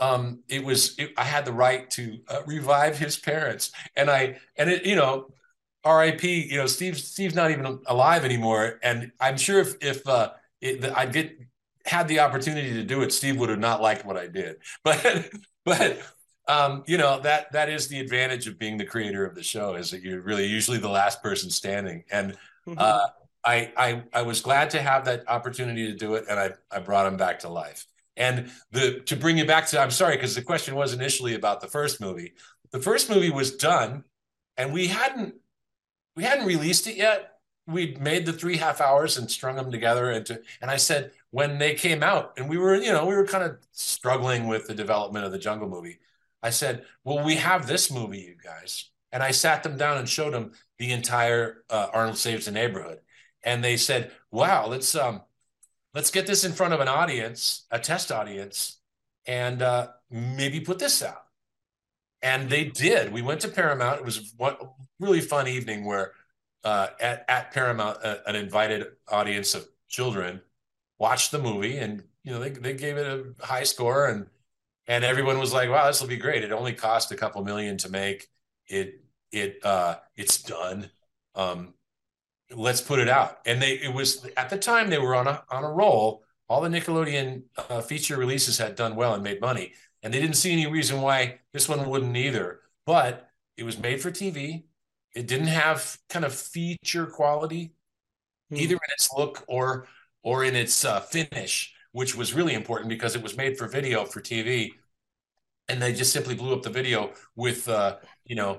um, it was it, I had the right to uh, revive his parents, and I and it you know, R I P You know, Steve Steve's not even alive anymore, and I'm sure if if uh, it, I get had the opportunity to do it, Steve would have not liked what I did, but but. Um, you know, that that is the advantage of being the creator of the show, is that you're really usually the last person standing. And uh, I, I I was glad to have that opportunity to do it, and I, I brought him back to life. And the to bring you back to, I'm sorry, because the question was initially about the first movie. The first movie was done, and we hadn't we hadn't released it yet. We'd made the three half hours and strung them together. And, to, and I said, when they came out, and we were, you know, we were kind of struggling with the development of the Jungle movie, I said, well, we have this movie, you guys. And I sat them down and showed them the entire uh, Arnold Saves the Neighborhood. And they said, wow, let's um, let's get this in front of an audience, a test audience, and uh, maybe put this out. And they did. We went to Paramount. It was one really fun evening where uh, at, at Paramount, uh, an invited audience of children watched the movie, and you know they, they gave it a high score, and And everyone was like, wow, this will be great. It only cost a couple million to make it. It uh, it's done. Um, let's put it out. And they it was at the time they were on a on a roll. All the Nickelodeon uh, feature releases had done well and made money. And they didn't see any reason why this one wouldn't either. But it was made for T V. It didn't have kind of feature quality, mm. either in its look or or in its uh, finish, which was really important because it was made for video for T V, and they just simply blew up the video with, uh, you know,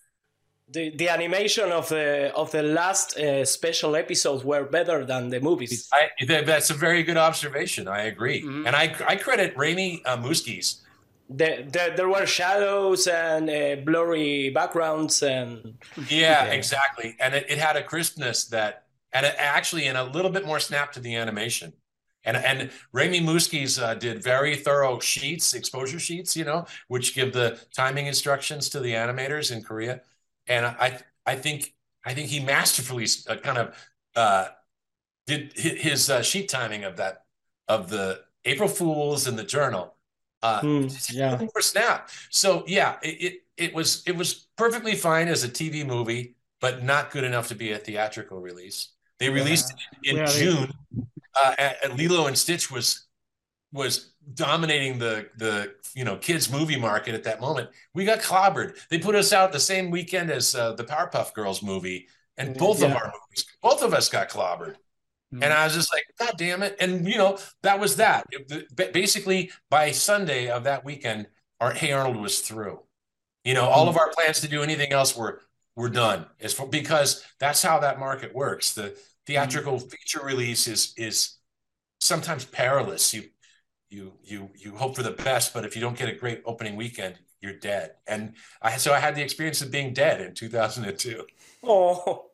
the the animation of the of the last uh, special episodes were better than the movies. I, that's a very good observation. I agree, mm-hmm. and I I credit Raimi uh, Muskies. The, the, there were shadows and uh, blurry backgrounds, and yeah, yeah. exactly, and it, it had a crispness that, and it actually, and a little bit more snap to the animation. And and Raimi Muskies uh, did very thorough sheets, exposure sheets, you know, which give the timing instructions to the animators in Korea. And I I think I think he masterfully uh, kind of uh, did his uh, sheet timing of that of the April Fools and the Journal. Uh, mm, yeah. For snap. So yeah, it, it it was it was perfectly fine as a T V movie, but not good enough to be a theatrical release. They released yeah. it in yeah, June. Uh, and Lilo and Stitch was was dominating the the you know kids movie market at that moment. We got clobbered. They put us out the same weekend as uh, the Powerpuff Girls movie, and both yeah. of our movies, both of us got clobbered. Mm-hmm. And I was just like, God damn it! And you know that was that. It, basically, by Sunday of that weekend, our Hey Arnold was through. You know, all mm-hmm. of our plans to do anything else were were done. It's for, because that's how that market works. The theatrical feature release is is sometimes perilous. You you you you hope for the best, but if you don't get a great opening weekend, you're dead. And I so I had the experience of being dead in two thousand two. Oh,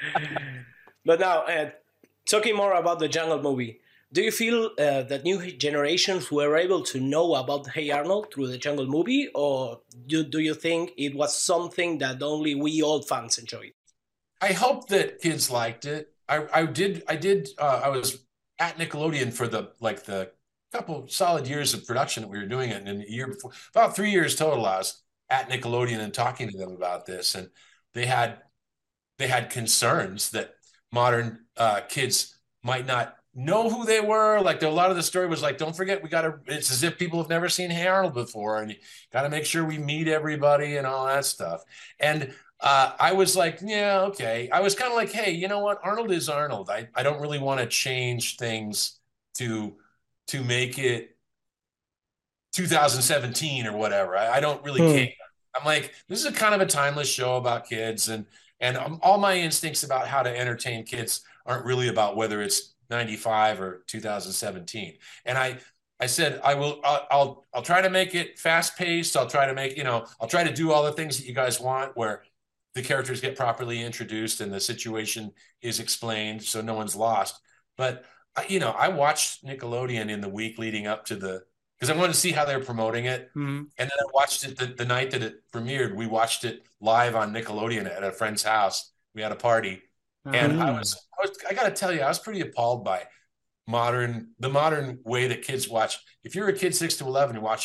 but now uh, talking more about the Jungle movie, do you feel uh, that new generations were able to know about Hey Arnold through the Jungle movie, or do, do you think it was something that only we old fans enjoyed? I hope that kids liked it. I, I did. I did. Uh, I was at Nickelodeon for the like the couple solid years of production that we were doing it, and in a year before, about three years total, I was at Nickelodeon and talking to them about this, and they had they had concerns that modern uh, kids might not know who they were. Like a lot of the story was like, don't forget, we got to. It's as if people have never seen Hey Arnold before, and you got to make sure we meet everybody and all that stuff. And Uh, I was like, yeah, okay. I was kind of like, hey, you know what? Arnold is Arnold. I, I don't really want to change things to to make it two thousand seventeen or whatever. I, I don't really hmm. care. I'm like, this is a kind of a timeless show about kids, and and um, all my instincts about how to entertain kids aren't really about whether it's ninety-five or two thousand seventeen. And I I said, I will, I'll, I'll, I'll try to make it fast paced. I'll try to make, you know, I'll try to do all the things that you guys want, where the characters get properly introduced and the situation is explained so no one's lost. But, you know, I watched Nickelodeon in the week leading up to the, because I wanted to see how they were promoting it. Mm-hmm. And then I watched it the, the night that it premiered. We watched it live on Nickelodeon at a friend's house. We had a party. Mm-hmm. And I was, I was, I got to tell you, I was pretty appalled by modern, the modern way that kids watch. If you're a kid six to eleven, you're watching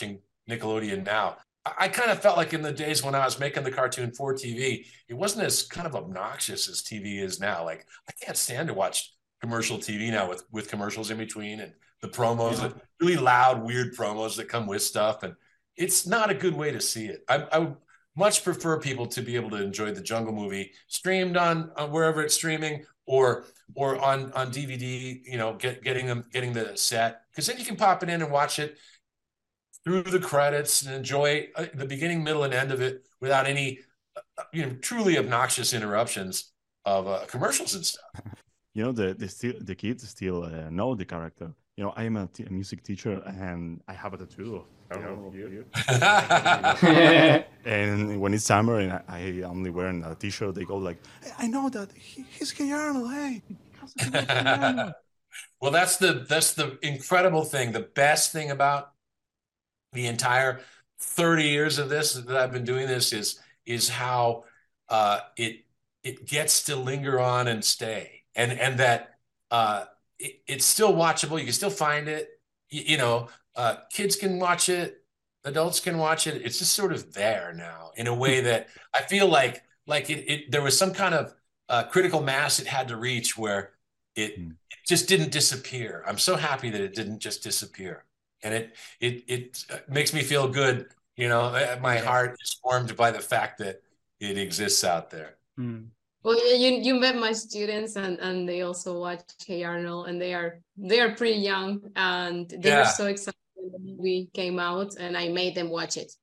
Nickelodeon now. I, I kind of felt like in the days when I was making the cartoon for T V, it wasn't as kind of obnoxious as T V is now. Like, I can't stand to watch commercial T V now with, with commercials in between and the promos, yeah. really loud, weird promos that come with stuff. And it's not a good way to see it. I, I would much prefer people to be able to enjoy the Jungle movie streamed on, on wherever it's streaming, or or on, on D V D, you know, get, getting them getting the set, because then you can pop it in and watch it through the credits and enjoy the beginning, middle, and end of it without any, you know, truly obnoxious interruptions of uh, commercials and stuff. You know, the the, still, the kids still uh, know the character. You know, I am a, t- a music teacher, and I have a tattoo. You know, you. And when it's summer and I, I only wearing a t-shirt, they go like, hey, "I know that he, he's Hey Arnold. Hey." Well, that's the that's the incredible thing. The best thing about the entire thirty years of this that I've been doing this is is how uh, it it gets to linger on and stay, and and that. Uh, It, it's still watchable. You can still find it. You, you know, uh, kids can watch it. Adults can watch it. It's just sort of there now in a way that I feel like like it, it there was some kind of uh, critical mass it had to reach where it, mm. it just didn't disappear. I'm so happy that it didn't just disappear, and it it it makes me feel good. You know, my heart is warmed by the fact that it exists out there. Mm. Well, you you met my students, and, and they also watch Hey Arnold, and they are they are pretty young, and they Yeah. were so excited when the movie came out, and I made them watch it.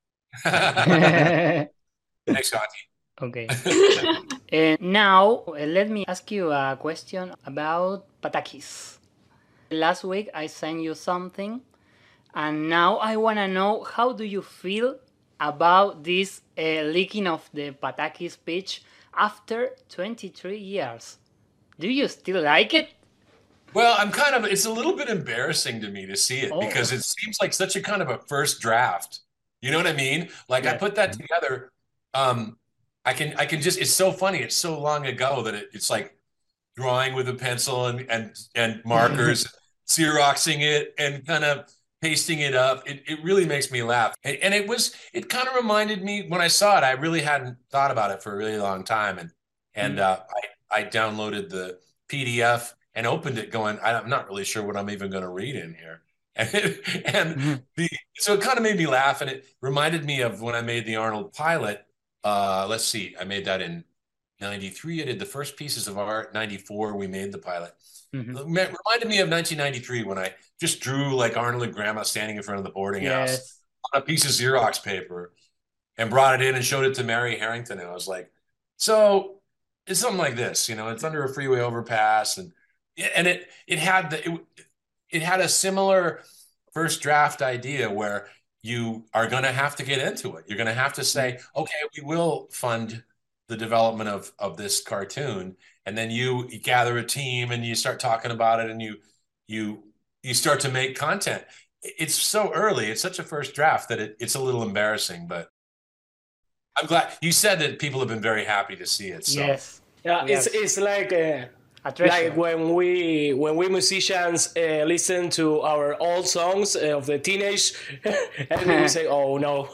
Thanks, Auntie. Okay. And now, uh, let me ask you a question about Patakis. Last week, I sent you something, and now I want to know, how do you feel about this uh, leaking of the Patakis pitch after twenty-three years? Do you still like it? Well, I'm kind of, it's a little bit embarrassing to me to see it Oh. because it seems like such a kind of a first draft. You know what I mean? Like I Yeah. put that together. Um, I can, I can just, it's so funny. It's so long ago that it, it's like drawing with a pencil and, and, and markers, Xeroxing it and kind of pasting it up. It, it really makes me laugh. And, and it was, it kind of reminded me when I saw it, I really hadn't thought about it for a really long time. And, and, uh, I, I downloaded the P D F and opened it going, I'm not really sure what I'm even going to read in here. And, and the, so it kind of made me laugh, and it reminded me of when I made the Arnold pilot. Uh, let's see, I made that in ninety-three. I did the first pieces of art. ninety-four, we made the pilot. Mhm. It reminded me of nineteen ninety-three when I just drew like Arnold and Grandma standing in front of the boarding house Yes. on a piece of Xerox paper and brought it in and showed it to Mary Harrington. And I was like, so it's something like this, you know, it's under a freeway overpass. And, and it, it had the, it, it had a similar first draft idea where you are going to have to get into it. You're going to have to say, okay, we will fund the development of, of this cartoon. And then you, you gather a team and you start talking about it, and you, you, you start to make content. It's so early. It's such a first draft that it, it's a little embarrassing, but I'm glad you said that people have been very happy to see it. So. Yes. Yeah, Yes. it's it's like uh, A treasure. like when we when we musicians uh, listen to our old songs uh, of the teenage, and then we say, "Oh no."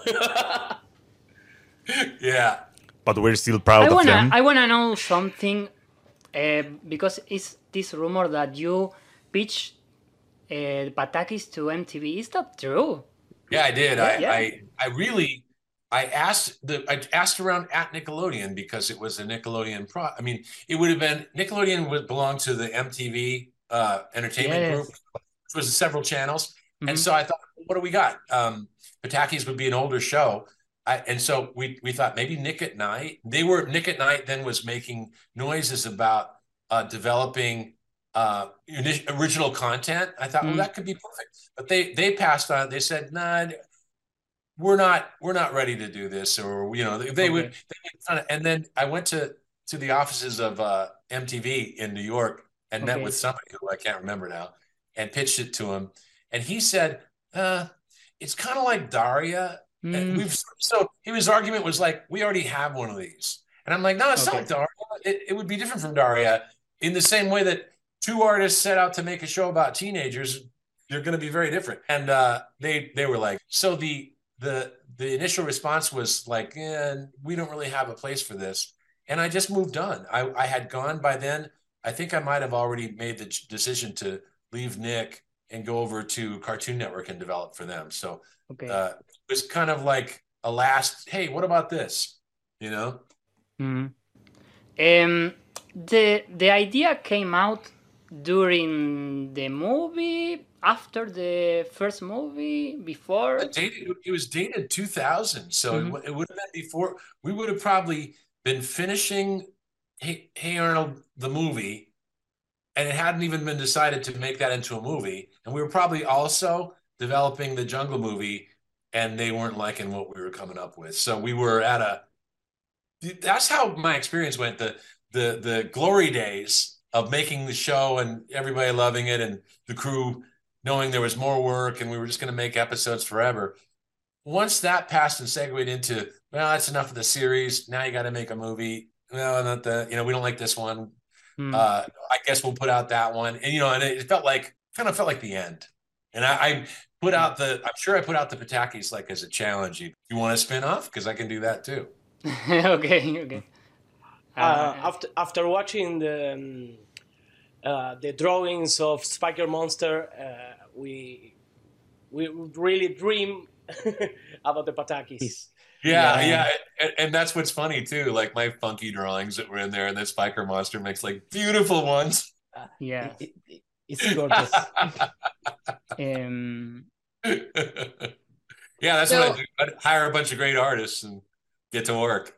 Yeah. But we're still proud I of wanna, them. I wanna know something, uh, because it's this rumor that you pitched uh, Patakis to M T V. Is that true? Yeah, I did. Yeah, I, yeah. I I really I asked the I asked around at Nickelodeon because it was a Nickelodeon pro. I mean, it would have been Nickelodeon would belong to the M T V uh, entertainment Yes. group, which was several channels. Mhm. And so I thought, what do we got? Um, Patakis would be an older show. I, and so we we thought maybe Nick at Night. They were Nick at Night then was making noises about uh, developing uh, uni- original content. I thought, Mm. well, that could be perfect. But they they passed on. They said, nah, we're not we're not ready to do this, or you know, they, they would. Okay. They would kind of, and then I went to to the offices of uh, M T V in New York and met Okay. with somebody who I can't remember now, and pitched it to him, and he said, uh, it's kind of like Daria. And Mm. we've so his argument was like, we already have one of these, and I'm like, no, it's Okay. not like Daria. It, it would be different from Daria in the same way that two artists set out to make a show about teenagers. They're going to be very different, and uh, they they were like, so the the the initial response was like, eh, we don't really have a place for this. And I just moved on. I, I had gone by then. I think I might have already made the decision to leave Nick and go over to Cartoon Network and develop for them. So Okay. uh, it was kind of like a last, hey, what about this? You know? Mm. Um, the the idea came out during the movie, after the first movie, before. It, dated, it was dated two thousand, so Mhm. it, it would have been before. We would have probably been finishing Hey, hey Arnold, the movie, and it hadn't even been decided to make that into a movie. And we were probably also developing the Jungle movie, and they weren't liking what we were coming up with. So we were at a. That's how my experience went. The the the glory days of making the show and everybody loving it, and the crew knowing there was more work and we were just going to make episodes forever. Once that passed and segued into, well, that's enough of the series. Now you got to make a movie. No, not the, you know, we don't like this one. Mm. Uh, I guess we'll put out that one. And, you know, and it felt like, kind of felt like the end. And I, I put out the, I'm sure I put out the Patakis like as a challenge. You, you want to spin off? Because I can do that too. okay, okay. Uh, after after watching the um, uh, the drawings of Spiker Monster, uh, we we really dream about the Patakis. Yeah, yeah, yeah. And, and that's what's funny too. Like my funky drawings that were in there, and the Spiker Monster makes like beautiful ones. Yeah, it, it, it's gorgeous. um, yeah, that's So- what I do. I'd hire a bunch of great artists and get to work.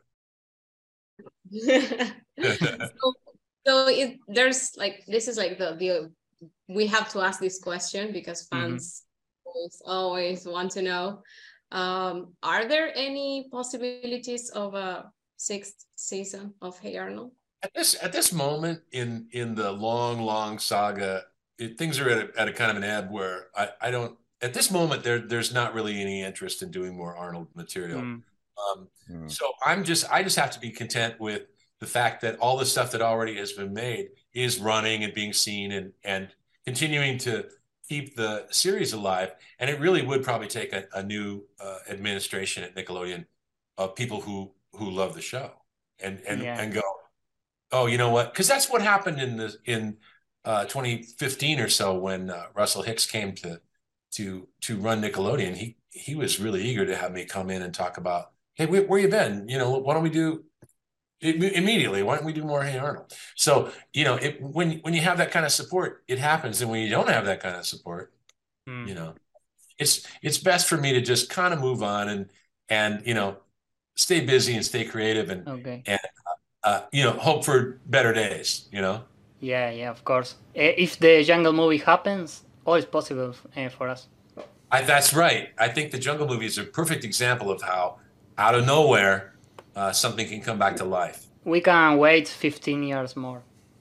so so it, there's like this is like the the we have to ask this question because fans always, always want to know, um are there any possibilities of a sixth season of Hey Arnold? At this at this moment in in the long long saga, it, things are at a, at a kind of an ebb where I I don't at this moment there there's not really any interest in doing more Arnold material. Mm. Um, So I'm just, I just have to be content with the fact that all the stuff that already has been made is running and being seen and and continuing to keep the series alive. And it really would probably take a, a new uh, administration at Nickelodeon of people who who love the show and and Yeah. and go, oh, you know what? Because that's what happened in the in uh, twenty fifteen or so when uh, Russell Hicks came to to to run Nickelodeon. He he was really eager to have me come in and talk about, hey, where, where you been? You know, why don't we do im- immediately? Why don't we do more Hey Arnold? So, you know, it, when when you have that kind of support, it happens. And when you don't have that kind of support, Mm. you know, it's it's best for me to just kind of move on and and you know, stay busy and stay creative and Okay. and uh, you know, hope for better days. You know. Yeah, yeah, of course. Uh, If the Jungle movie happens, all is possible uh, for us. I, that's right. I think the Jungle movie is a perfect example of how, out of nowhere, uh, something can come back to life. We can wait fifteen years more.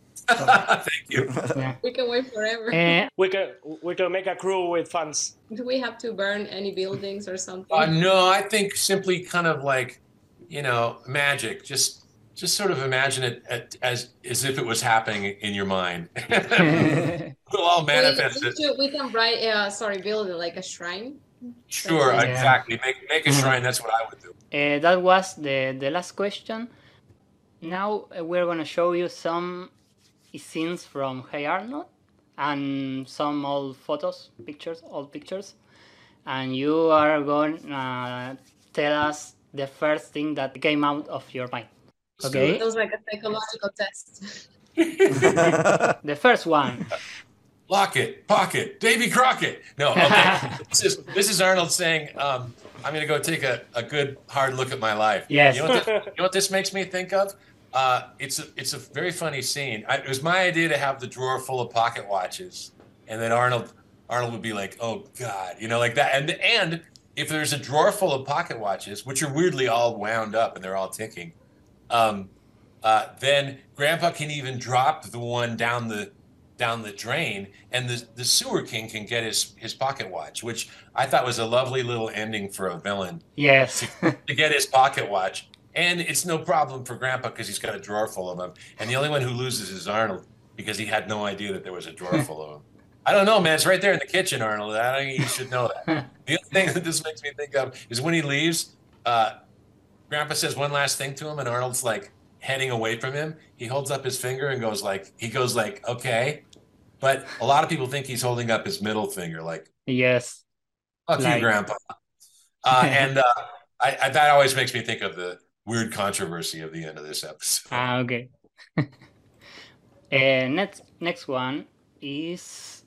Thank you. Yeah. We can wait forever. Uh, We can we can make a crew with fans. Do we have to burn any buildings or something? Uh, no, I think simply kind of like, you know, magic. Just just sort of imagine it at, as as if it was happening in your mind. We'll all manifest we, it. we, we can write, uh, sorry, build like a shrine. Sure, Yeah. exactly. Make make a shrine. That's what I would do. Uh, that was the, the last question. Now uh, we're going to show you some scenes from Hey Arnold and some old photos, pictures, old pictures. And you are going to tell us the first thing that came out of your mind. Okay? It was like a psychological test. The first one. Locket, pocket, Davy Crockett. No, okay. this is this is Arnold saying, um, I'm going to go take a, a good hard look at my life. Yes. You know what this, you know what this makes me think of? Uh, it's a, it's a very funny scene. I, it was my idea to have the drawer full of pocket watches, and then Arnold Arnold would be like, "Oh God," you know, like that. And and if there's a drawer full of pocket watches, which are weirdly all wound up and they're all ticking, um, uh, then Grandpa can even drop the one down the down the drain, and the the sewer king can get his his pocket watch, which I thought was a lovely little ending for a villain. Yes. To get his pocket watch. And it's no problem for Grandpa because he's got a drawer full of them. And the only one who loses is Arnold because he had no idea that there was a drawer full of them. I don't know, man. It's right there in the kitchen, Arnold. I think you should know that. The other thing that this makes me think of is when he leaves, uh, Grandpa says one last thing to him, and Arnold's like heading away from him. He holds up his finger and goes like, he goes like, okay. But a lot of people think he's holding up his middle finger, like, Yes. fuck Like- you, Grandpa. Uh, and uh, I, I, that always makes me think of the weird controversy of the end of this episode. Ah, okay. uh, next, next one is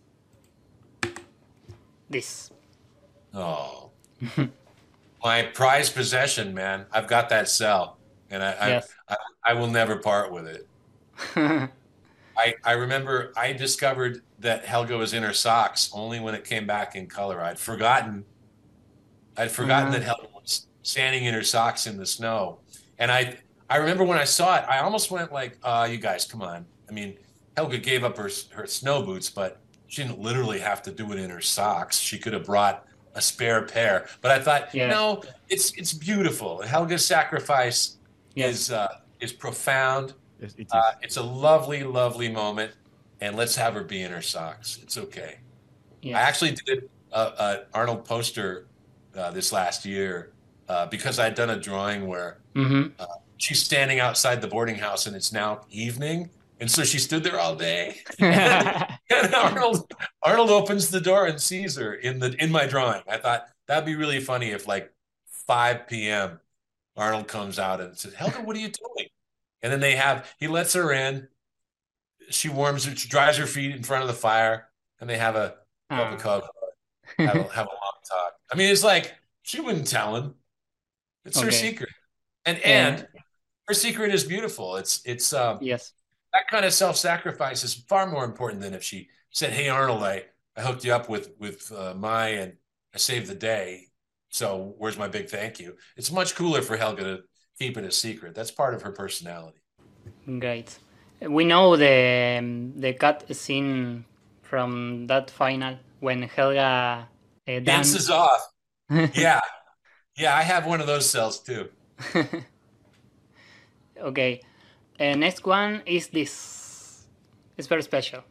this. Oh, my prized possession, man. I've got that cell, and I, I, Yes. I, I will never part with it. I, I remember I discovered that Helga was in her socks only when it came back in color. I'd forgotten, I'd forgotten Uh-huh. that Helga was standing in her socks in the snow. And I, I remember when I saw it, I almost went like, uh, you guys, come on. I mean, Helga gave up her, her snow boots, but she didn't literally have to do it in her socks. She could have brought a spare pair. But I thought, Yeah. no, it's, it's beautiful. Helga's sacrifice Yes. is, uh, is profound. Yes, it is. Uh, it's a lovely, lovely moment, and let's have her be in her socks. It's okay. Yes. I actually did an Arnold poster uh, this last year uh, because I'd done a drawing where Mhm. uh, she's standing outside the boarding house, and it's now evening, and so she stood there all day. And Arnold Arnold opens the door and sees her in the in my drawing. I thought that'd be really funny if like five p.m. Arnold comes out and says, "Helga, what are you doing?" And then they have, he lets her in. She warms her, she dries her feet in front of the fire, and they have a cup of cocoa, have, a, have a long talk. I mean, it's like, she wouldn't tell him. It's her Okay. secret. And, Yeah. and her secret is beautiful. It's, it's, um, Yes. that kind of self-sacrifice is far more important than if she said, "Hey, Arnold, I, I hooked you up with, with uh, Mai and I saved the day. So where's my big thank you?" It's much cooler for Helga to keep it a secret. That's part of her personality. Great. We know the um, the cut scene from that final when Helga uh, Dances danced. off. Yeah. Yeah, I have one of those cells too. Okay. Uh, next one is this. It's very special.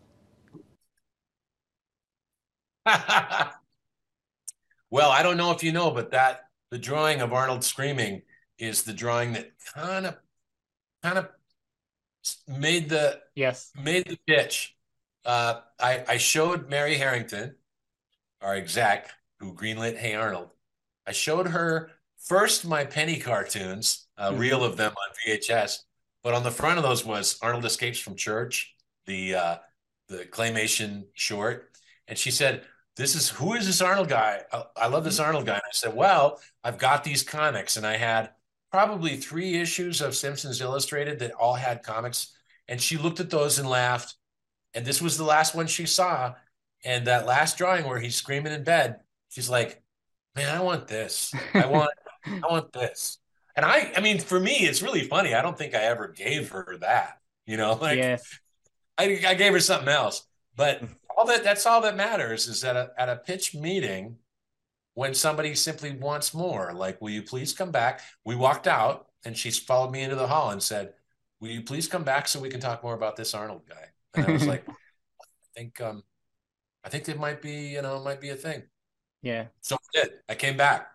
Well, I don't know if you know, but that the drawing of Arnold screaming is the drawing that kind of kind of made the Yes. made the pitch. Uh, I, I showed Mary Harrington, our exec, who greenlit Hey Arnold. I showed her first my penny cartoons, a Mhm. reel of them on V H S, but on the front of those was Arnold Escapes from Church, the uh, the claymation short, and she said, "This is who is this Arnold guy? I, I love this Arnold guy." And I said, "Well, I've got these comics," and I had probably three issues of Simpsons Illustrated that all had comics, and she looked at those and laughed. And this was the last one she saw, and that last drawing where he's screaming in bed, she's like, "Man, I want this. I want, I want this." And I, I mean, for me, it's really funny. I don't think I ever gave her that. You know, like Yes. I, I gave her something else. But all that, that's all that matters is that at a pitch meeting, when somebody simply wants more, like, "Will you please come back?" We walked out, and she followed me into the hall and said, "Will you please come back so we can talk more about this Arnold guy?" And I was like, I think, um, I think it might be, you know, it might be a thing. Yeah. So I did. I came back.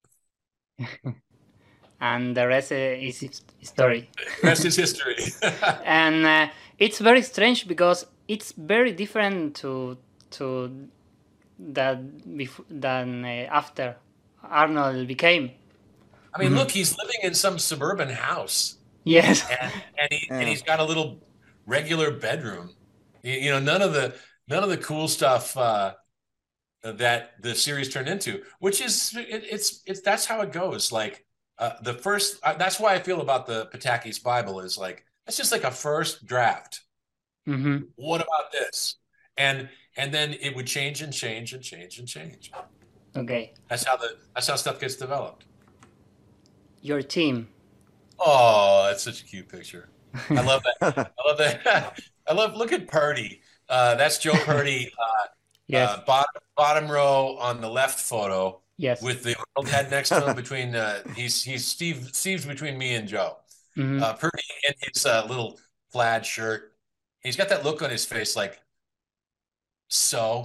And the rest uh, is his- story. The rest is history. And uh, it's very strange because it's very different to to that before than uh, after Arnold became. I mean, look, he's living in some suburban house. Yes. And, and, he, and he's got a little regular bedroom. You, you know, none of the none of the cool stuff uh, that the series turned into, which is it, it's it's that's how it goes. Like uh, the first, uh, that's why I feel about the Pataki's Bible is like it's just like a first draft. Mm-hmm. What about this? And and then it would change and change and change and change. Okay. That's how the that's how stuff gets developed. Your team. Oh, that's such a cute picture. I love that. I love that. I love. Look at Purdy. Uh, that's Joe Purdy. Uh, Yes. uh, bottom bottom row on the left photo. Yes. With the Arnold head next to him. Between uh, he's he's Steve. Steve's between me and Joe. Mhm. Uh, Purdy in his uh, little plaid shirt. He's got that look on his face, like So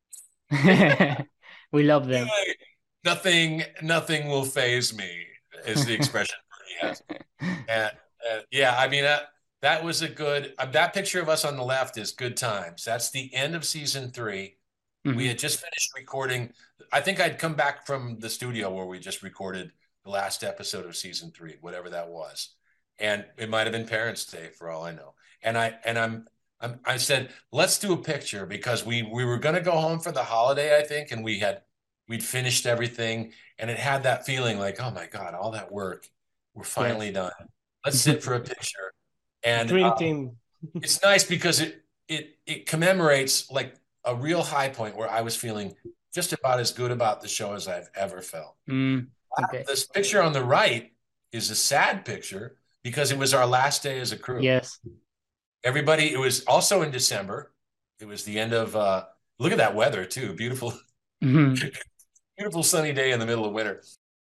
we love them. Nothing, nothing will faze me, is the expression he has. And uh, yeah, I mean, uh, that was a good, uh, that picture of us on the left is good times. That's the end of season three. Mm-hmm. We had just finished recording. I think I'd come back from the studio where we just recorded the last episode of season three, whatever that was. And it might have been Parents' Day for all I know. And I, and I'm, I'm I said, let's do a picture because we, we were going to go home for the holiday, I think. And we had, we'd finished everything and it had that feeling like, oh my God, all that work, we're finally yes. done. Let's sit for a picture. And Dream uh, team. It's nice because it, it, it commemorates like a real high point where I was feeling just about as good about the show as I've ever felt. Mm, okay. This picture on the right is a sad picture because it was our last day as a crew. Yes. Everybody, it was also in December. It was the end of, uh, look at that weather too. Beautiful, mm-hmm. beautiful sunny day in the middle of winter.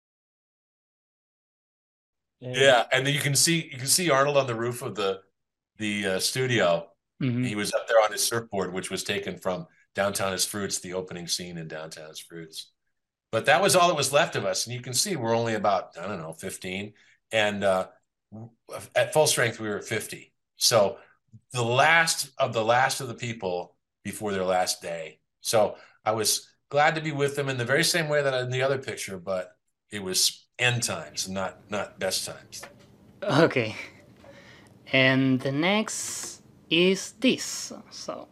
Yeah. yeah. And then you can see, you can see Arnold on the roof of the, the uh, studio. Mm-hmm. He was up there on his surfboard, which was taken from Downtown as Fruits, the opening scene in Downtown as Fruits. But that was all that was left of us. And you can see we're only about, I don't know, fifteen. And uh, at full strength, we were fifty. So the last of the last of the people before their last day. So I was glad to be with them in the very same way that in the other picture, but it was end times, not not best times. Okay. And the next is this. So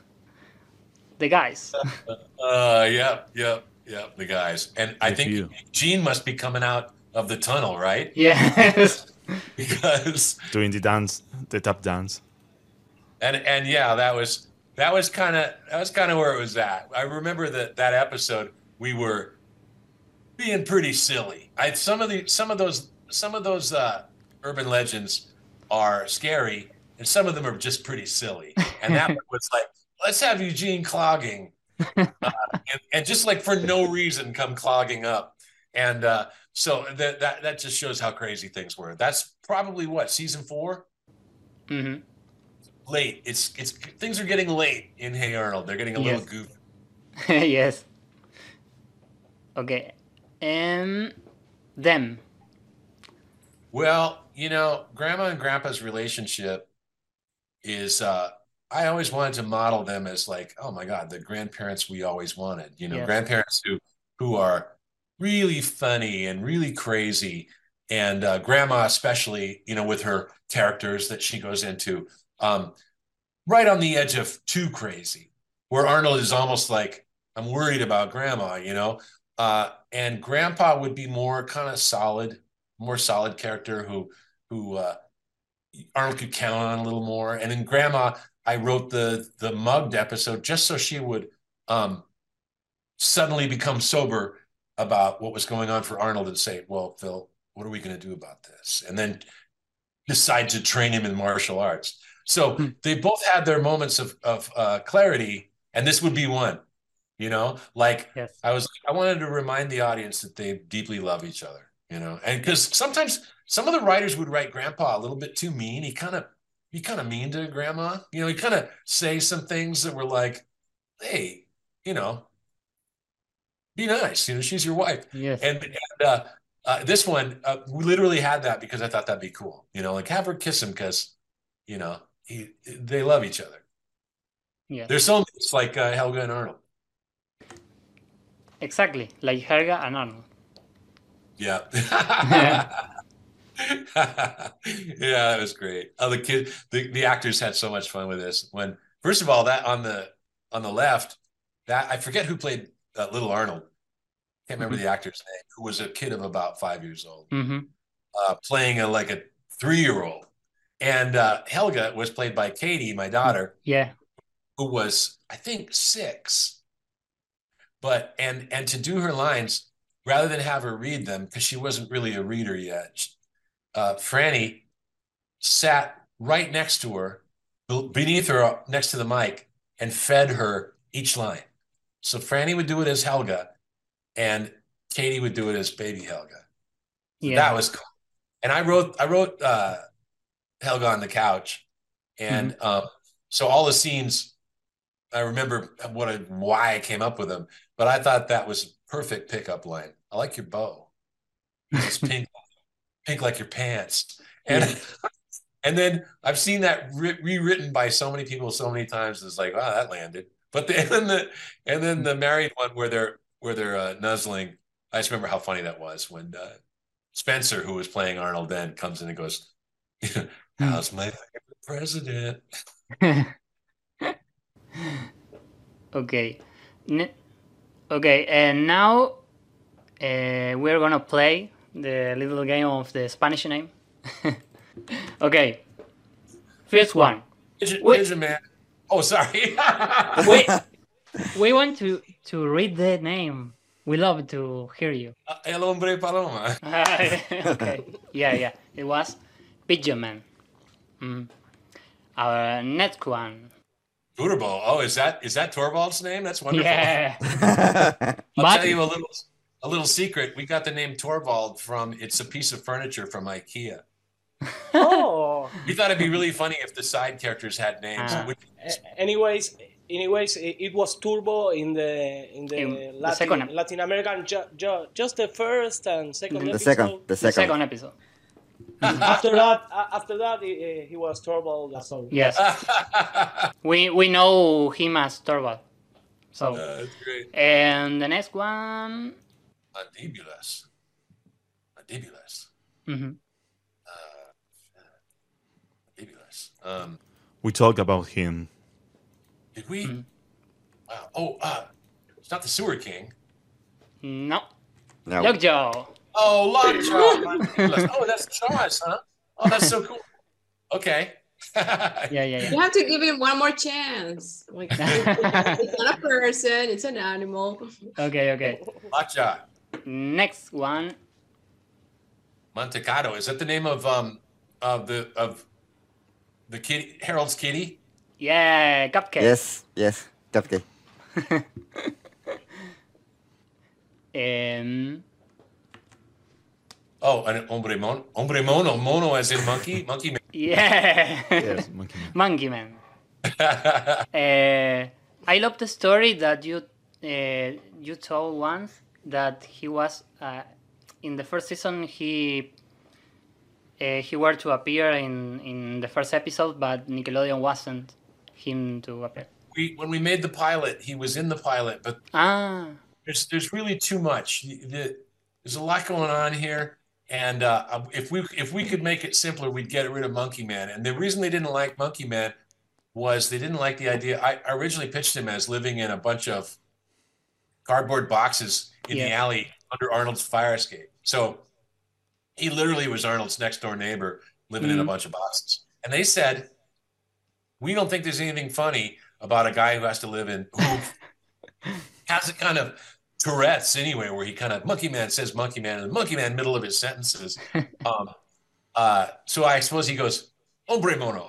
the guys. uh yeah, yeah, yeah, the guys. And I think you. Gene must be coming out of the tunnel, right? Yes. Because doing the dance, the tap dance. And and yeah, that was that was kind of that was kind of where it was at. I remember that that episode we were being pretty silly. I some of the some of those some of those uh, urban legends are scary, and some of them are just pretty silly. And that was like, let's have Eugene clogging, uh, and, and just like for no reason come clogging up. And uh, so that that that just shows how crazy things were. That's probably what, season four. Mm-hmm. Late. It's it's things are getting late in Hey Arnold. They're getting a yes. little goofy. Yes. Okay. And them. Well, you know, Grandma and Grandpa's relationship is uh I always wanted to model them as like, oh my God, the grandparents we always wanted. You know, yes. grandparents who who are really funny and really crazy. And uh, Grandma especially, you know, with her characters that she goes into. Um, right on the edge of too crazy, where Arnold is almost like, I'm worried about Grandma, you know, uh, and Grandpa would be more kind of solid, more solid character who, who uh, Arnold could count on a little more. And in Grandma, I wrote the the mugged episode just so she would um, suddenly become sober about what was going on for Arnold and say, well, Phil, what are we going to do about this? And then decide to train him in martial arts. So they both had their moments of, of uh, clarity, and this would be one, you know, like yes. I was, I wanted to remind the audience that they deeply love each other, you know, and because sometimes some of the writers would write Grandpa a little bit too mean. He kind of, he kind of mean to Grandma, you know, he kind of say some things that were like, hey, you know, be nice, you know, she's your wife. Yes. And, and uh, uh, this one, uh, we literally had that because I thought that'd be cool, you know, like have her kiss him because, you know, He, they love each other. Yeah, they're soulmates like uh, Helga and Arnold. Exactly, like Helga and Arnold. Yeah. yeah, that was great. Oh, the kid, the, the actors had so much fun with this. When first of all, that on the on the left, that I forget who played uh, Little Arnold. Can't remember mm-hmm. the actor's name. Who was a kid of about five years old, mm-hmm. uh, playing a like a three year old. And uh, Helga was played by Katie, my daughter. Yeah. Who was, I think, six. But, and and to do her lines, rather than have her read them, because she wasn't really a reader yet, uh, Franny sat right next to her, beneath her, next to the mic, and fed her each line. So Franny would do it as Helga, and Katie would do it as baby Helga. Yeah. That was cool. And I wrote, I wrote, uh, Helga on the couch. And mm-hmm. um, so all the scenes I remember what I, why I came up with them, but I thought that was a perfect pickup line. I like your bow. It's pink, pink like your pants. And yeah. And then I've seen that re- rewritten by so many people so many times. It's like, wow, that landed. But the, and then the and then the married one where they're where they're uh, nuzzling. I just remember how funny that was when uh, Spencer, who was playing Arnold then, comes in and goes, "How's my favorite president?" Okay, N- okay, and now uh, we're gonna play the little game of the Spanish name. Okay, first one. Pigeon, pigeon man. Oh, sorry. we, we want to to read the name. We love to hear you. Uh, El hombre paloma. Okay. Yeah, yeah. It was Pigeon Man. Mm. Our next one. Turbo. Oh, is that is that Torvald's name? That's wonderful. Yeah. I'll But- tell you a little a little secret. We got the name Torvald from it's a piece of furniture from IKEA. Oh. We thought it'd be really funny if the side characters had names. Ah. Would- A- Anyways, anyways, it, it was Turbo in the in the, In the Latin, second ep- Latin American, ju- ju- just the first and second The episode. second, the The second. second episode. After that, uh, after that, he, he was Torvald. So Yes. we we know him as Torvald. So, Uh, that's great. and the next one. Mandibulus. Mandibulus. Mhm. Mandibulus. Um, We talked about him. did we? Wow. Oh, uh, it's not the Sewer King. No. No. Lockjaw. Oh, Lockjaw. Mandibulus. Oh, that's Jaws, huh? Oh, that's so cool. Okay. Yeah, yeah, yeah. You have to give him one more chance. Like, it's not a person, it's an animal. Okay, okay. Lockjaw. Next one. Montecado. Is that the name of um of the of the kitty Harold's kitty? Yeah, Cupcake. Yes, yes. Cupcake. Um, Oh, and hombre mono, hombre mono, mono as in monkey, monkey man. yeah. Yes, Monkey Man. Monkey Man. Uh, I love the story that you uh, you told once that he was uh, in the first season. He uh, he were to appear in in the first episode, but Nickelodeon wasn't him to appear. We when we made the pilot, he was in the pilot, but Ah, there's there's really too much. The- the- There's a lot going on here, and uh, if we if we could make it simpler, we'd get rid of Monkey Man. And the reason they didn't like Monkey Man was they didn't like the idea. I I originally pitched him as living in a bunch of cardboard boxes in the Yeah. alley under Arnold's fire escape. So he literally was Arnold's next door neighbor living in a Mhm. bunch of boxes. And they said, we don't think there's anything funny about a guy who has to live in who has a kind of Tourette's anyway, where he kind of Monkey Man says Monkey Man and Monkey Man middle of his sentences. Um, uh, so I suppose he goes, hombre mono.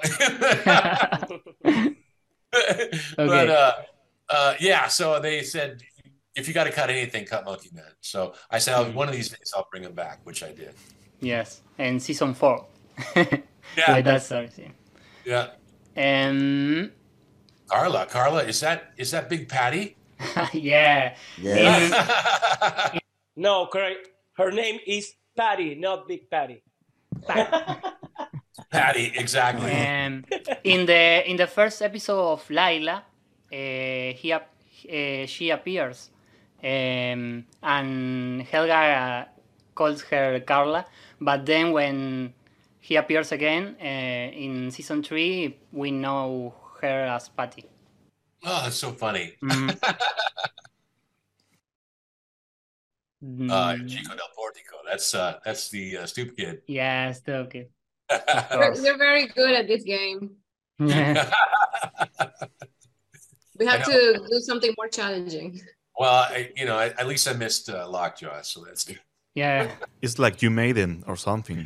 But uh, uh, yeah, so they said, if you got to cut anything, cut Monkey Man. So I said, oh, one of these days I'll bring him back, which I did. yes, and season four. Yeah. With that story. scene. Yeah. Um, Carla, Carla, is that is that Big Patty? yeah. Yeah. no, correct. Her name is Patty, not Big Patty. Patty, exactly. Um, in the in the first episode of Laila, uh, he ap- uh, she appears, um, and Helga uh, calls her Carla. But then when he appears again uh, in season three, we know her as Patty. Oh, that's so funny. Mhm. Uh, Chico del Portico. That's uh, that's the uh, stupid kid. Yes, okay. You're, you're very good at this game. Yeah. We have I to do something more challenging. Well, I, you know, I, at least I missed uh, Lockjaw, so that's good. Yeah. It's like you made him or something.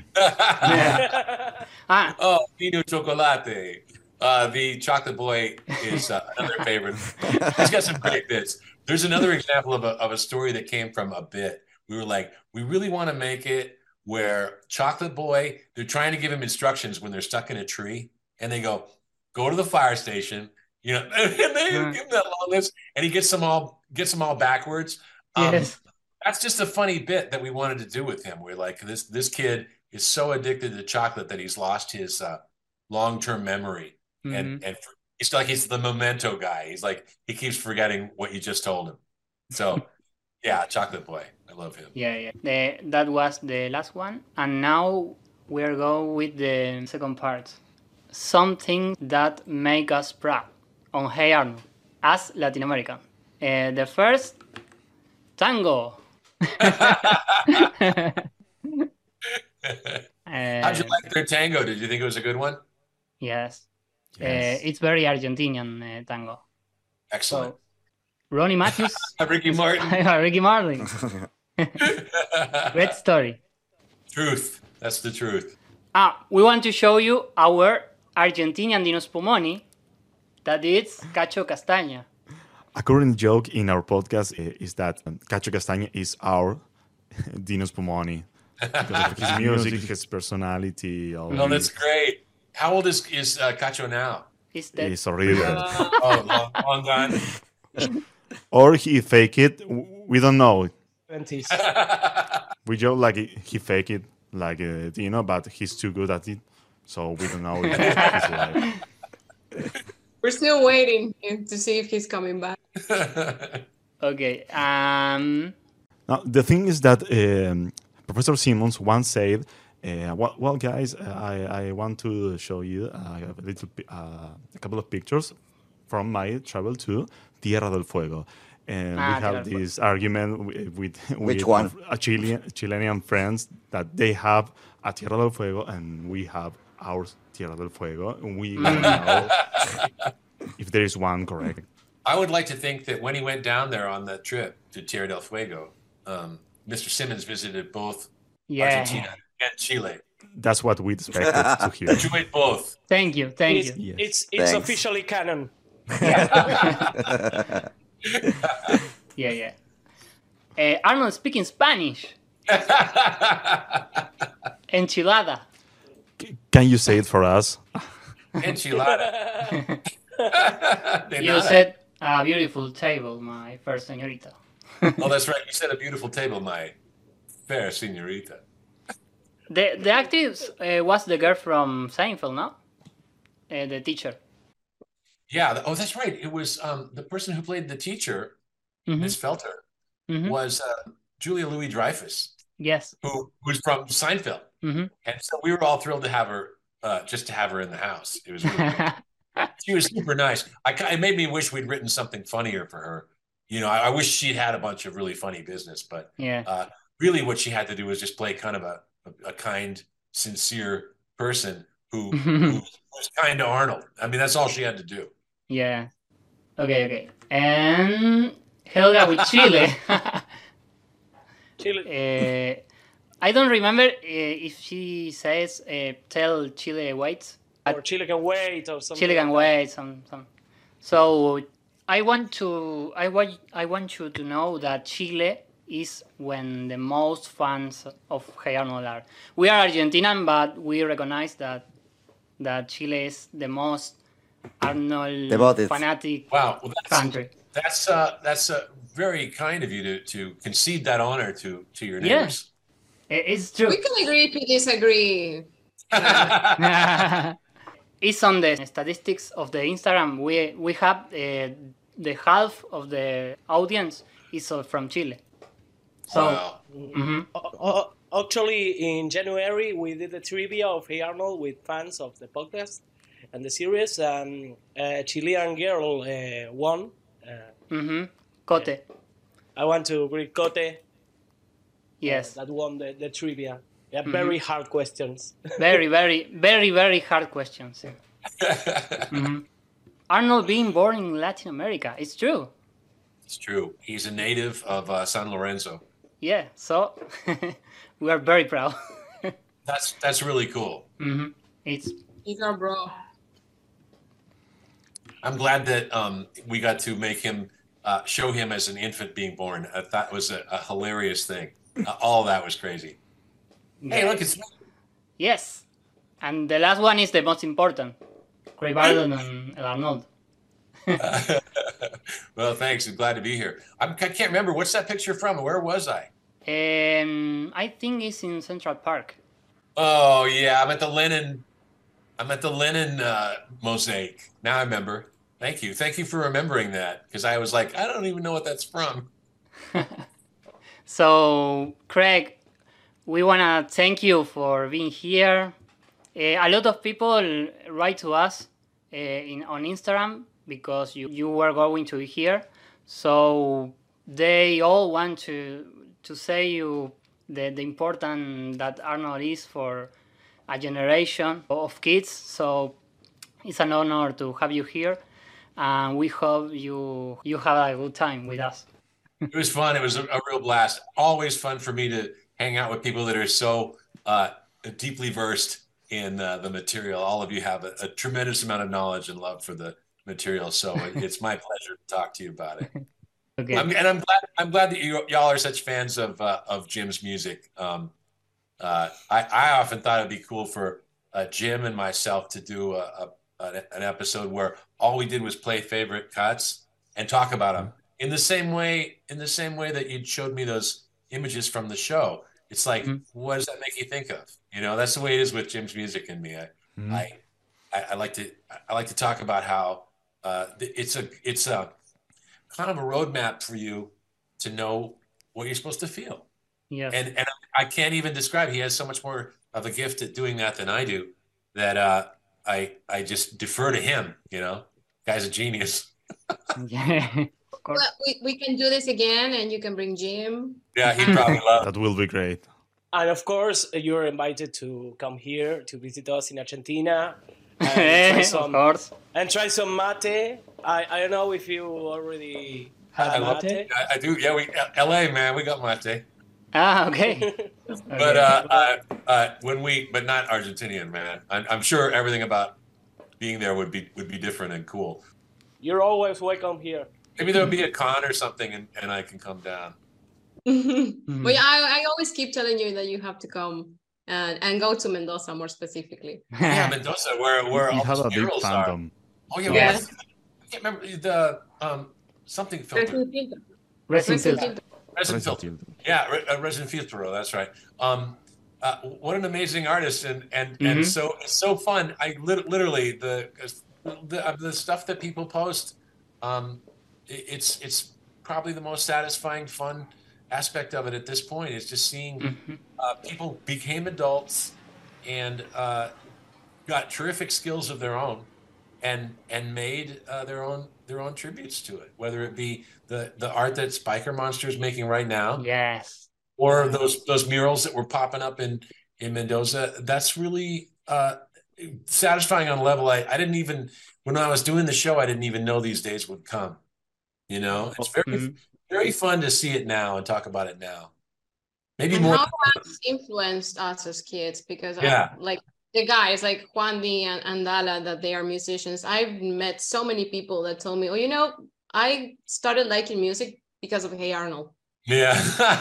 Ah. Oh, Pino Chocolate. Uh, the Chocolate Boy is uh, another favorite. He's got some great bits. There's another example of a, of a story that came from a bit. We were like, we really want to make it where Chocolate Boy, they're trying to give him instructions when they're stuck in a tree. And they go, go to the fire station. You know, and they Mm. give him that long list, and he gets them all gets them all backwards. Um, Yes. That's just a funny bit that we wanted to do with him. We're like, this this kid is so addicted to chocolate that he's lost his uh, long term memory, Mhm. and and it's like he's the memento guy. He's like he keeps forgetting what you just told him. So, yeah, Chocolate Boy, I love him. Yeah, yeah. The, that was the last one, and now we're going with the second part. Something that make us proud on Hey Arnold as Latin American. Uh, the first, tango. How'd you like their tango? Did you think it was a good one? Yes. Yes. Uh, it's very Argentinian uh, tango. Excellent. So, Ronnie Matthews. Ricky Martin. Ricky Martin. Great story. Truth. That's the truth. Ah, we want to show you our Argentinian Dino Spumoni, that is Cacho Castaña. A current joke in our podcast i- is that um, Cacho Castaña is our Dino Spumoni. Because of his music, his personality. All Oh, that's his- great. How old is is uh, Cacho now? He's dead. It's horrible. Oh, long, long gone. Or he fake it. w- We don't know. twenties. We joke like he he fake it, like uh, Dino, but he's too good at it. So we don't know if he's alive. We're still waiting to see if he's coming back. Okay. Um. Now, the thing is that um, Professor Simmons once said, uh, well, well, guys, uh, I, I want to show you uh, a, little, pi- uh, a couple of pictures from my travel to Tierra del Fuego. And Ah, we Tierra del have Fuego. this argument wi- with, with Which one? a Chilean, Chilean friends that they have a Tierra del Fuego and we have our Tierra del Fuego. And we don't know if there is one correct. I would like to think that when he went down there on that trip to Tierra del Fuego, um, Mister Simmons visited both Yeah. Argentina and Chile. That's what we expected to hear. Enjoyed both. Thank you. Thank it's, you. It's it's Thanks. officially canon. Yeah, yeah. Uh, Arnold speaking Spanish. Enchilada. Can you say it for us? Enchilada. De You nada. said a beautiful table, my first señorita. Oh, that's right. You said a beautiful table, my fair señorita. The the actress uh, was the girl from Seinfeld, no? Uh, the teacher. Yeah. th- Oh, that's right. It was um, the person who played the teacher, Miss Felter, Mhm. was uh, Julia Louis Dreyfus, Yes. who who's from Seinfeld, Mhm. and so we were all thrilled to have her, uh, just to have her in the house. It was really cool. She was super nice. I, ki- it made me wish we'd written something funnier for her. You know, I, I wish she'd had a bunch of really funny business, but Yeah. uh, really what she had to do was just play kind of a, a, a kind, sincere person who, who was kind to Arnold. I mean, that's all she had to do. Yeah. Okay, okay. And Helga with Chile. Chile. Uh, I don't remember uh, if she says uh, tell Chile waits. Or Chile can wait or something. Chile can like that. wait. Some, some. So I want to I want I want you to know that Chile is when the most fans of Hey Arnold are. We are Argentinian, but we recognize that that Chile is the most Arnold Devoted. fanatic Wow. Well, that's, country. that's, uh, that's uh, very kind of you to, to concede that honor to, to your Yeah. neighbors. It- It's true. We can agree to disagree. It's on the statistics of the Instagram. We we have uh, the half of the audience is uh, from Chile. So Wow. mhm. O- o- Actually, in January, we did a trivia of Hey Arnold with fans of the podcast and the series, and a Chilean girl uh, won. Uh, Mhm. Cote. I want to greet Cote. Yes. uh, that won the, the trivia. Yeah, Mhm. very hard questions. Very, very, very, very hard questions. Mhm. Arnold being born in Latin America. It's true. It's true. He's a native of uh, San Lorenzo. Yeah. So we are very proud. That's that's really cool. Mhm. It's He's our bro. I'm glad that um, we got to make him uh, show him as an infant being born. I thought was a, a hilarious thing. Uh, all that was crazy. Hey, look, it's yes. And the last one is the most important. Craig Barton and El Arnold. Uh, well, thanks. I'm glad to be here. I'm, I can't remember. What's that picture from? Where was I? Um, I think it's in Central Park. Oh, yeah. I'm at the Lennon. I'm at the Lennon uh, mosaic. Now I remember. Thank you. Thank you for remembering that, because I was like, I don't even know what that's from. So, Craig, we want to thank you for being here. Uh, a lot of people write to us uh, in on Instagram because you, you were going to be here. So they all want to to say you the, the important that Arnold is for a generation of kids. So it's an honor to have you here. And we hope you you have a good time with us. It was fun. It was a, a real blast. Always fun for me to hang out with people that are so uh, deeply versed in uh, the material. All of you have a, a tremendous amount of knowledge and love for the material. So it, it's my pleasure to talk to you about it. Okay. I'm, and I'm glad I'm glad that you y'all are such fans of uh, of Jim's music. Um, uh, I I often thought it'd be cool for uh, Jim and myself to do a, a, an episode where all we did was play favorite cuts and talk about them in the same way in the same way that you showed me those images from the show. It's like, mm-hmm. what does that make you think of? You know, that's the way it is with Jim's music and me. I mm-hmm. I, I I like to I like to talk about how uh, it's a it's a kind of a roadmap for you to know what you're supposed to feel. Yeah. And and I can't even describe. He has so much more of a gift at doing that than I do that uh, I I just defer to him. You know, guy's a genius. Yeah. Well, we, we can do this again, and you can bring Jim. Yeah, he'd probably love it. That will be great. And of course, you're invited to come here to visit us in Argentina. And try some, of course. And try some mate. I, I don't know if you already had I mate. Love, I, I do. Yeah, we L A man, we got mate. Ah, okay. But uh, uh, uh, when we, but not Argentinian, man. I'm, I'm sure everything about being there would be would be different and cool. You're always welcome here. Maybe there'll be a con or something, and, and I can come down. Mm-hmm. Well, I, I always keep telling you that you have to come and, and go to Mendoza more specifically. Yeah, Mendoza, where where you all have the a big murals fandom. are. Oh yeah, yes. I can't remember the um something filter. Resin filter. Resin filter. Yeah, re, uh, Resin filter. That's right. Um, uh, what an amazing artist, and and mm-hmm. and so it's so fun. I lit, literally the the uh, the stuff that people post. Um, It's it's probably the most satisfying, fun aspect of it at this point. Is just seeing mm-hmm. uh, people became adults and uh, got terrific skills of their own, and and made uh, their own their own tributes to it. Whether it be the the art that Spiker Monster is making right now, yes, or those those murals that were popping up in in Mendoza. That's really uh, satisfying on a level I, I didn't even when I was doing the show. I didn't even know these days would come. You know, it's very, mm-hmm. very fun to see it now and talk about it now. Maybe and more. How has influenced us as kids? Because yeah. I, like the guys like Juan Di and, and Dala, that they are musicians. I've met so many people that told me, oh, you know, I started liking music because of Hey Arnold. Yeah.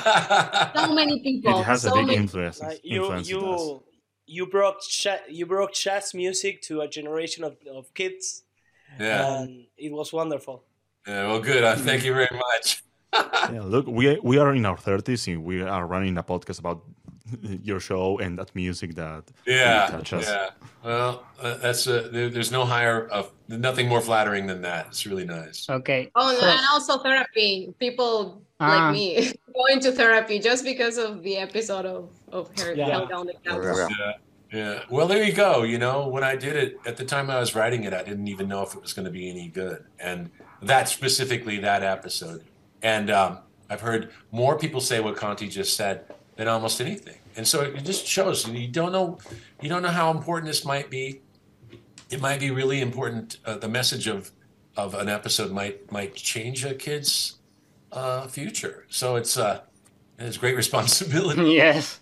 So many people. It has so a big many... influence. Like you, influence you, you brought ch- you brought jazz music to a generation of, of kids. Yeah. And it was wonderful. Yeah, well, good. Uh, thank you very much. Yeah, look, we we are in our thirties and we are running a podcast about your show and that music that yeah, really touches. Yeah. Well, uh, that's a, there, there's no higher of nothing more flattering than that. It's really nice. Okay. Oh, so, and also therapy. People uh, like me going to therapy just because of the episode of of her yeah. down the couch. Yeah. Yeah. Well, there you go. You know, when I did it at the time I was writing it, I didn't even know if it was going to be any good. And that specifically that episode. And um, I've heard more people say what Conti just said than almost anything. And so it just shows you don't know, you don't know how important this might be. It might be really important. Uh, the message of, of an episode might, might change a kid's uh, future. So it's, uh, it's great responsibility. Yes.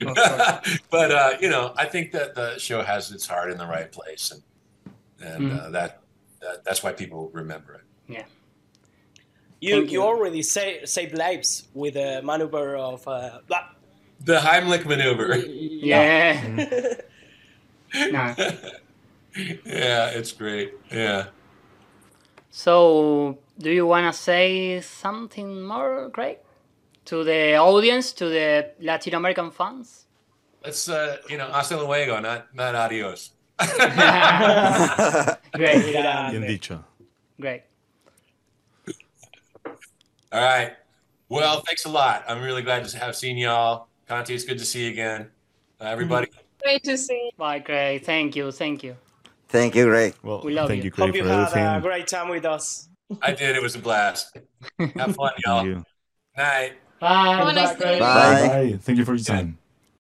But uh, you know, I think that the show has its heart in the right place, and and mm. uh, that, that that's why people remember it. Yeah. You you, you already say, saved lives with a maneuver of uh, blah. The Heimlich maneuver. Yeah. Yeah, it's great. Yeah. So, do you want to say something more, Craig? To the audience, to the Latin American fans? Let's, uh, you know, hasta luego, not, not adios. Great. Bien dicho. Great. All right. Well, thanks a lot. I'm really glad to have seen y'all. Conti, it's good to see you again. Uh, everybody. Great to see. Bye, Craig. Thank you. Thank you. Thank you, Greg. Well, We love thank you. you, Craig, Hope you for had everything. a great time with us. I did. It was a blast. Have fun, y'all. Thank you. Night. Bye. Have a nice Bye, Craig. day. Bye. Bye. Thank you for your time.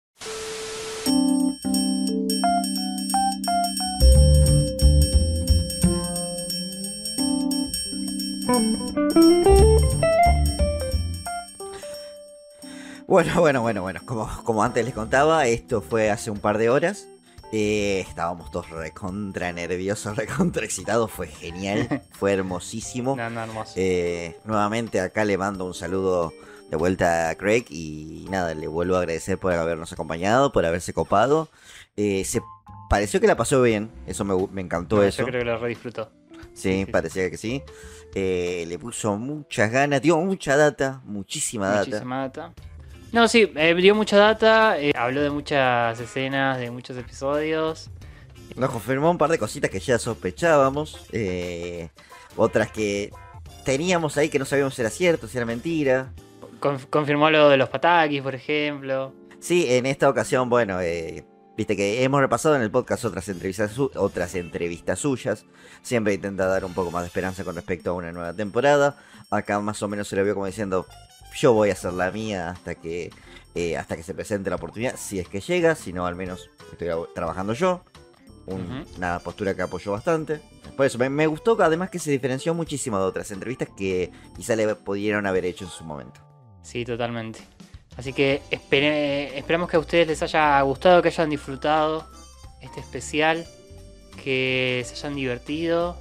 Bueno, bueno, bueno, bueno. Como, como antes les contaba, esto fue hace un par de horas. Eh, estábamos todos recontra nerviosos, recontra excitados. Fue genial, fue hermosísimo. No, no, hermoso. Eh, nuevamente acá le mando un saludo de vuelta a Craig. Y nada, le vuelvo a agradecer por habernos acompañado, por haberse copado. Eh, se pareció que la pasó bien, eso me, me encantó No, eso. Yo creo que lo redisfrutó. Sí, sí, parecía que sí. Eh, le puso muchas ganas, dio mucha data, muchísima data. Muchísima data. No, sí, eh, dio mucha data, eh, habló de muchas escenas, de muchos episodios. Nos confirmó un par de cositas que ya sospechábamos. Eh, otras que teníamos ahí que no sabíamos si era cierto, si era mentira. Conf- confirmó lo de los patakis, por ejemplo. Sí, en esta ocasión, bueno, eh, viste que hemos repasado en el podcast otras entrevistas, su- otras entrevistas suyas. Siempre intenta dar un poco más de esperanza con respecto a una nueva temporada. Acá más o menos se le vio como diciendo, yo voy a hacer la mía hasta que eh, hasta que se presente la oportunidad, si es que llega, si no al menos estoy a- trabajando yo. Un- Ujú. Una postura que apoyó bastante. Por eso me, me gustó además que se diferenció muchísimo de otras entrevistas que quizá le pudieron haber hecho en su momento. Sí, totalmente. Así que espere- esperamos que a ustedes les haya gustado, que hayan disfrutado este especial, que se hayan divertido.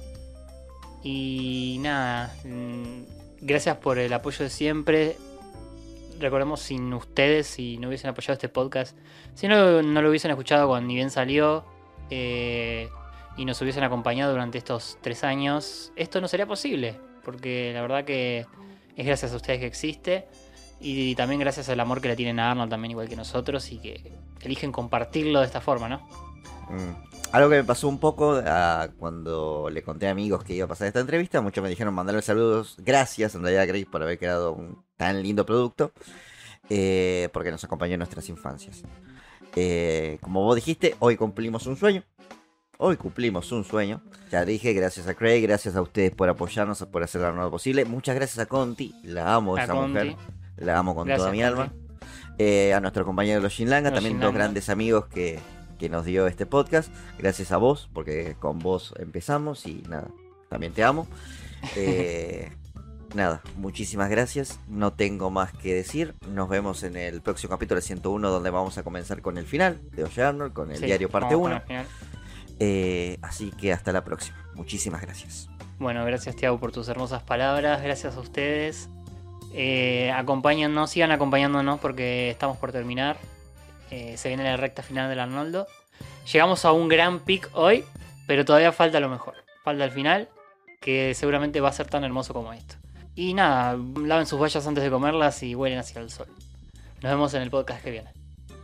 Y nada, mm, gracias por el apoyo de siempre. Recordemos, sin ustedes, si no hubiesen apoyado este podcast, si no, no lo hubiesen escuchado cuando ni bien salió, eh, y nos hubiesen acompañado durante estos tres años, esto no sería posible. Porque la verdad que es gracias a ustedes que existe. Y también gracias al amor que le tienen a Arnold, también igual que nosotros, y que eligen compartirlo de esta forma, ¿no? Mm. Algo que me pasó un poco ah, cuando le conté a amigos que iba a pasar esta entrevista, muchos me dijeron mandarle saludos, gracias en realidad Grace por haber creado un tan lindo producto, eh, porque nos acompañó en nuestras infancias. Eh, como vos dijiste, hoy cumplimos un sueño. Hoy cumplimos un sueño. Ya dije, gracias a Craig, gracias a ustedes por apoyarnos, por hacer lo nuevo posible. Muchas gracias a Conti, la amo A esa Conti. mujer. La amo con Gracias, toda mi Conti. alma. Eh, a nuestro compañero Los Shinlanga, Los también Shinlanga. dos grandes amigos que, que nos dio este podcast. Gracias a vos, porque con vos empezamos y nada, también te amo. Eh, nada, muchísimas gracias. No tengo más que decir. Nos vemos en el próximo capítulo ciento uno, donde vamos a comenzar con el final de Oye Arnold, con el Sí, diario parte vamos con uno. el final. Eh, así que hasta la próxima. Muchísimas gracias. Bueno, gracias Tiago por tus hermosas palabras, gracias a ustedes. Eh, acompáñennos, sigan acompañándonos porque estamos por terminar. Eh, se viene la recta final del Arnoldo. Llegamos a un gran pick hoy, pero todavía falta lo mejor. Falta el final, que seguramente va a ser tan hermoso como esto. Y nada, laven sus vallas antes de comerlas y vuelen hacia el sol. Nos vemos en el podcast que viene.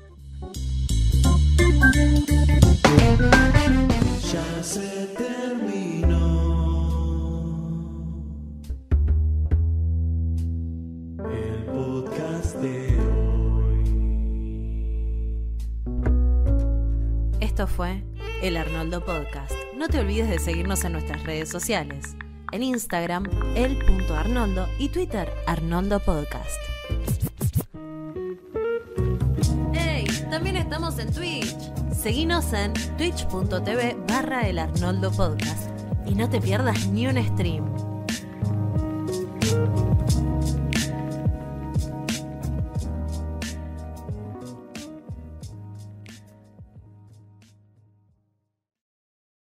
Ya se terminó el podcast de Esto fue el Arnoldo Podcast. No te olvides de seguirnos en nuestras redes sociales. En Instagram, el punto Arnoldo y Twitter, Arnoldo Podcast. ¡Hey! También estamos en Twitch. Seguinos en twitch punto tv barra el Arnoldo Podcast. Y no te pierdas ni un stream.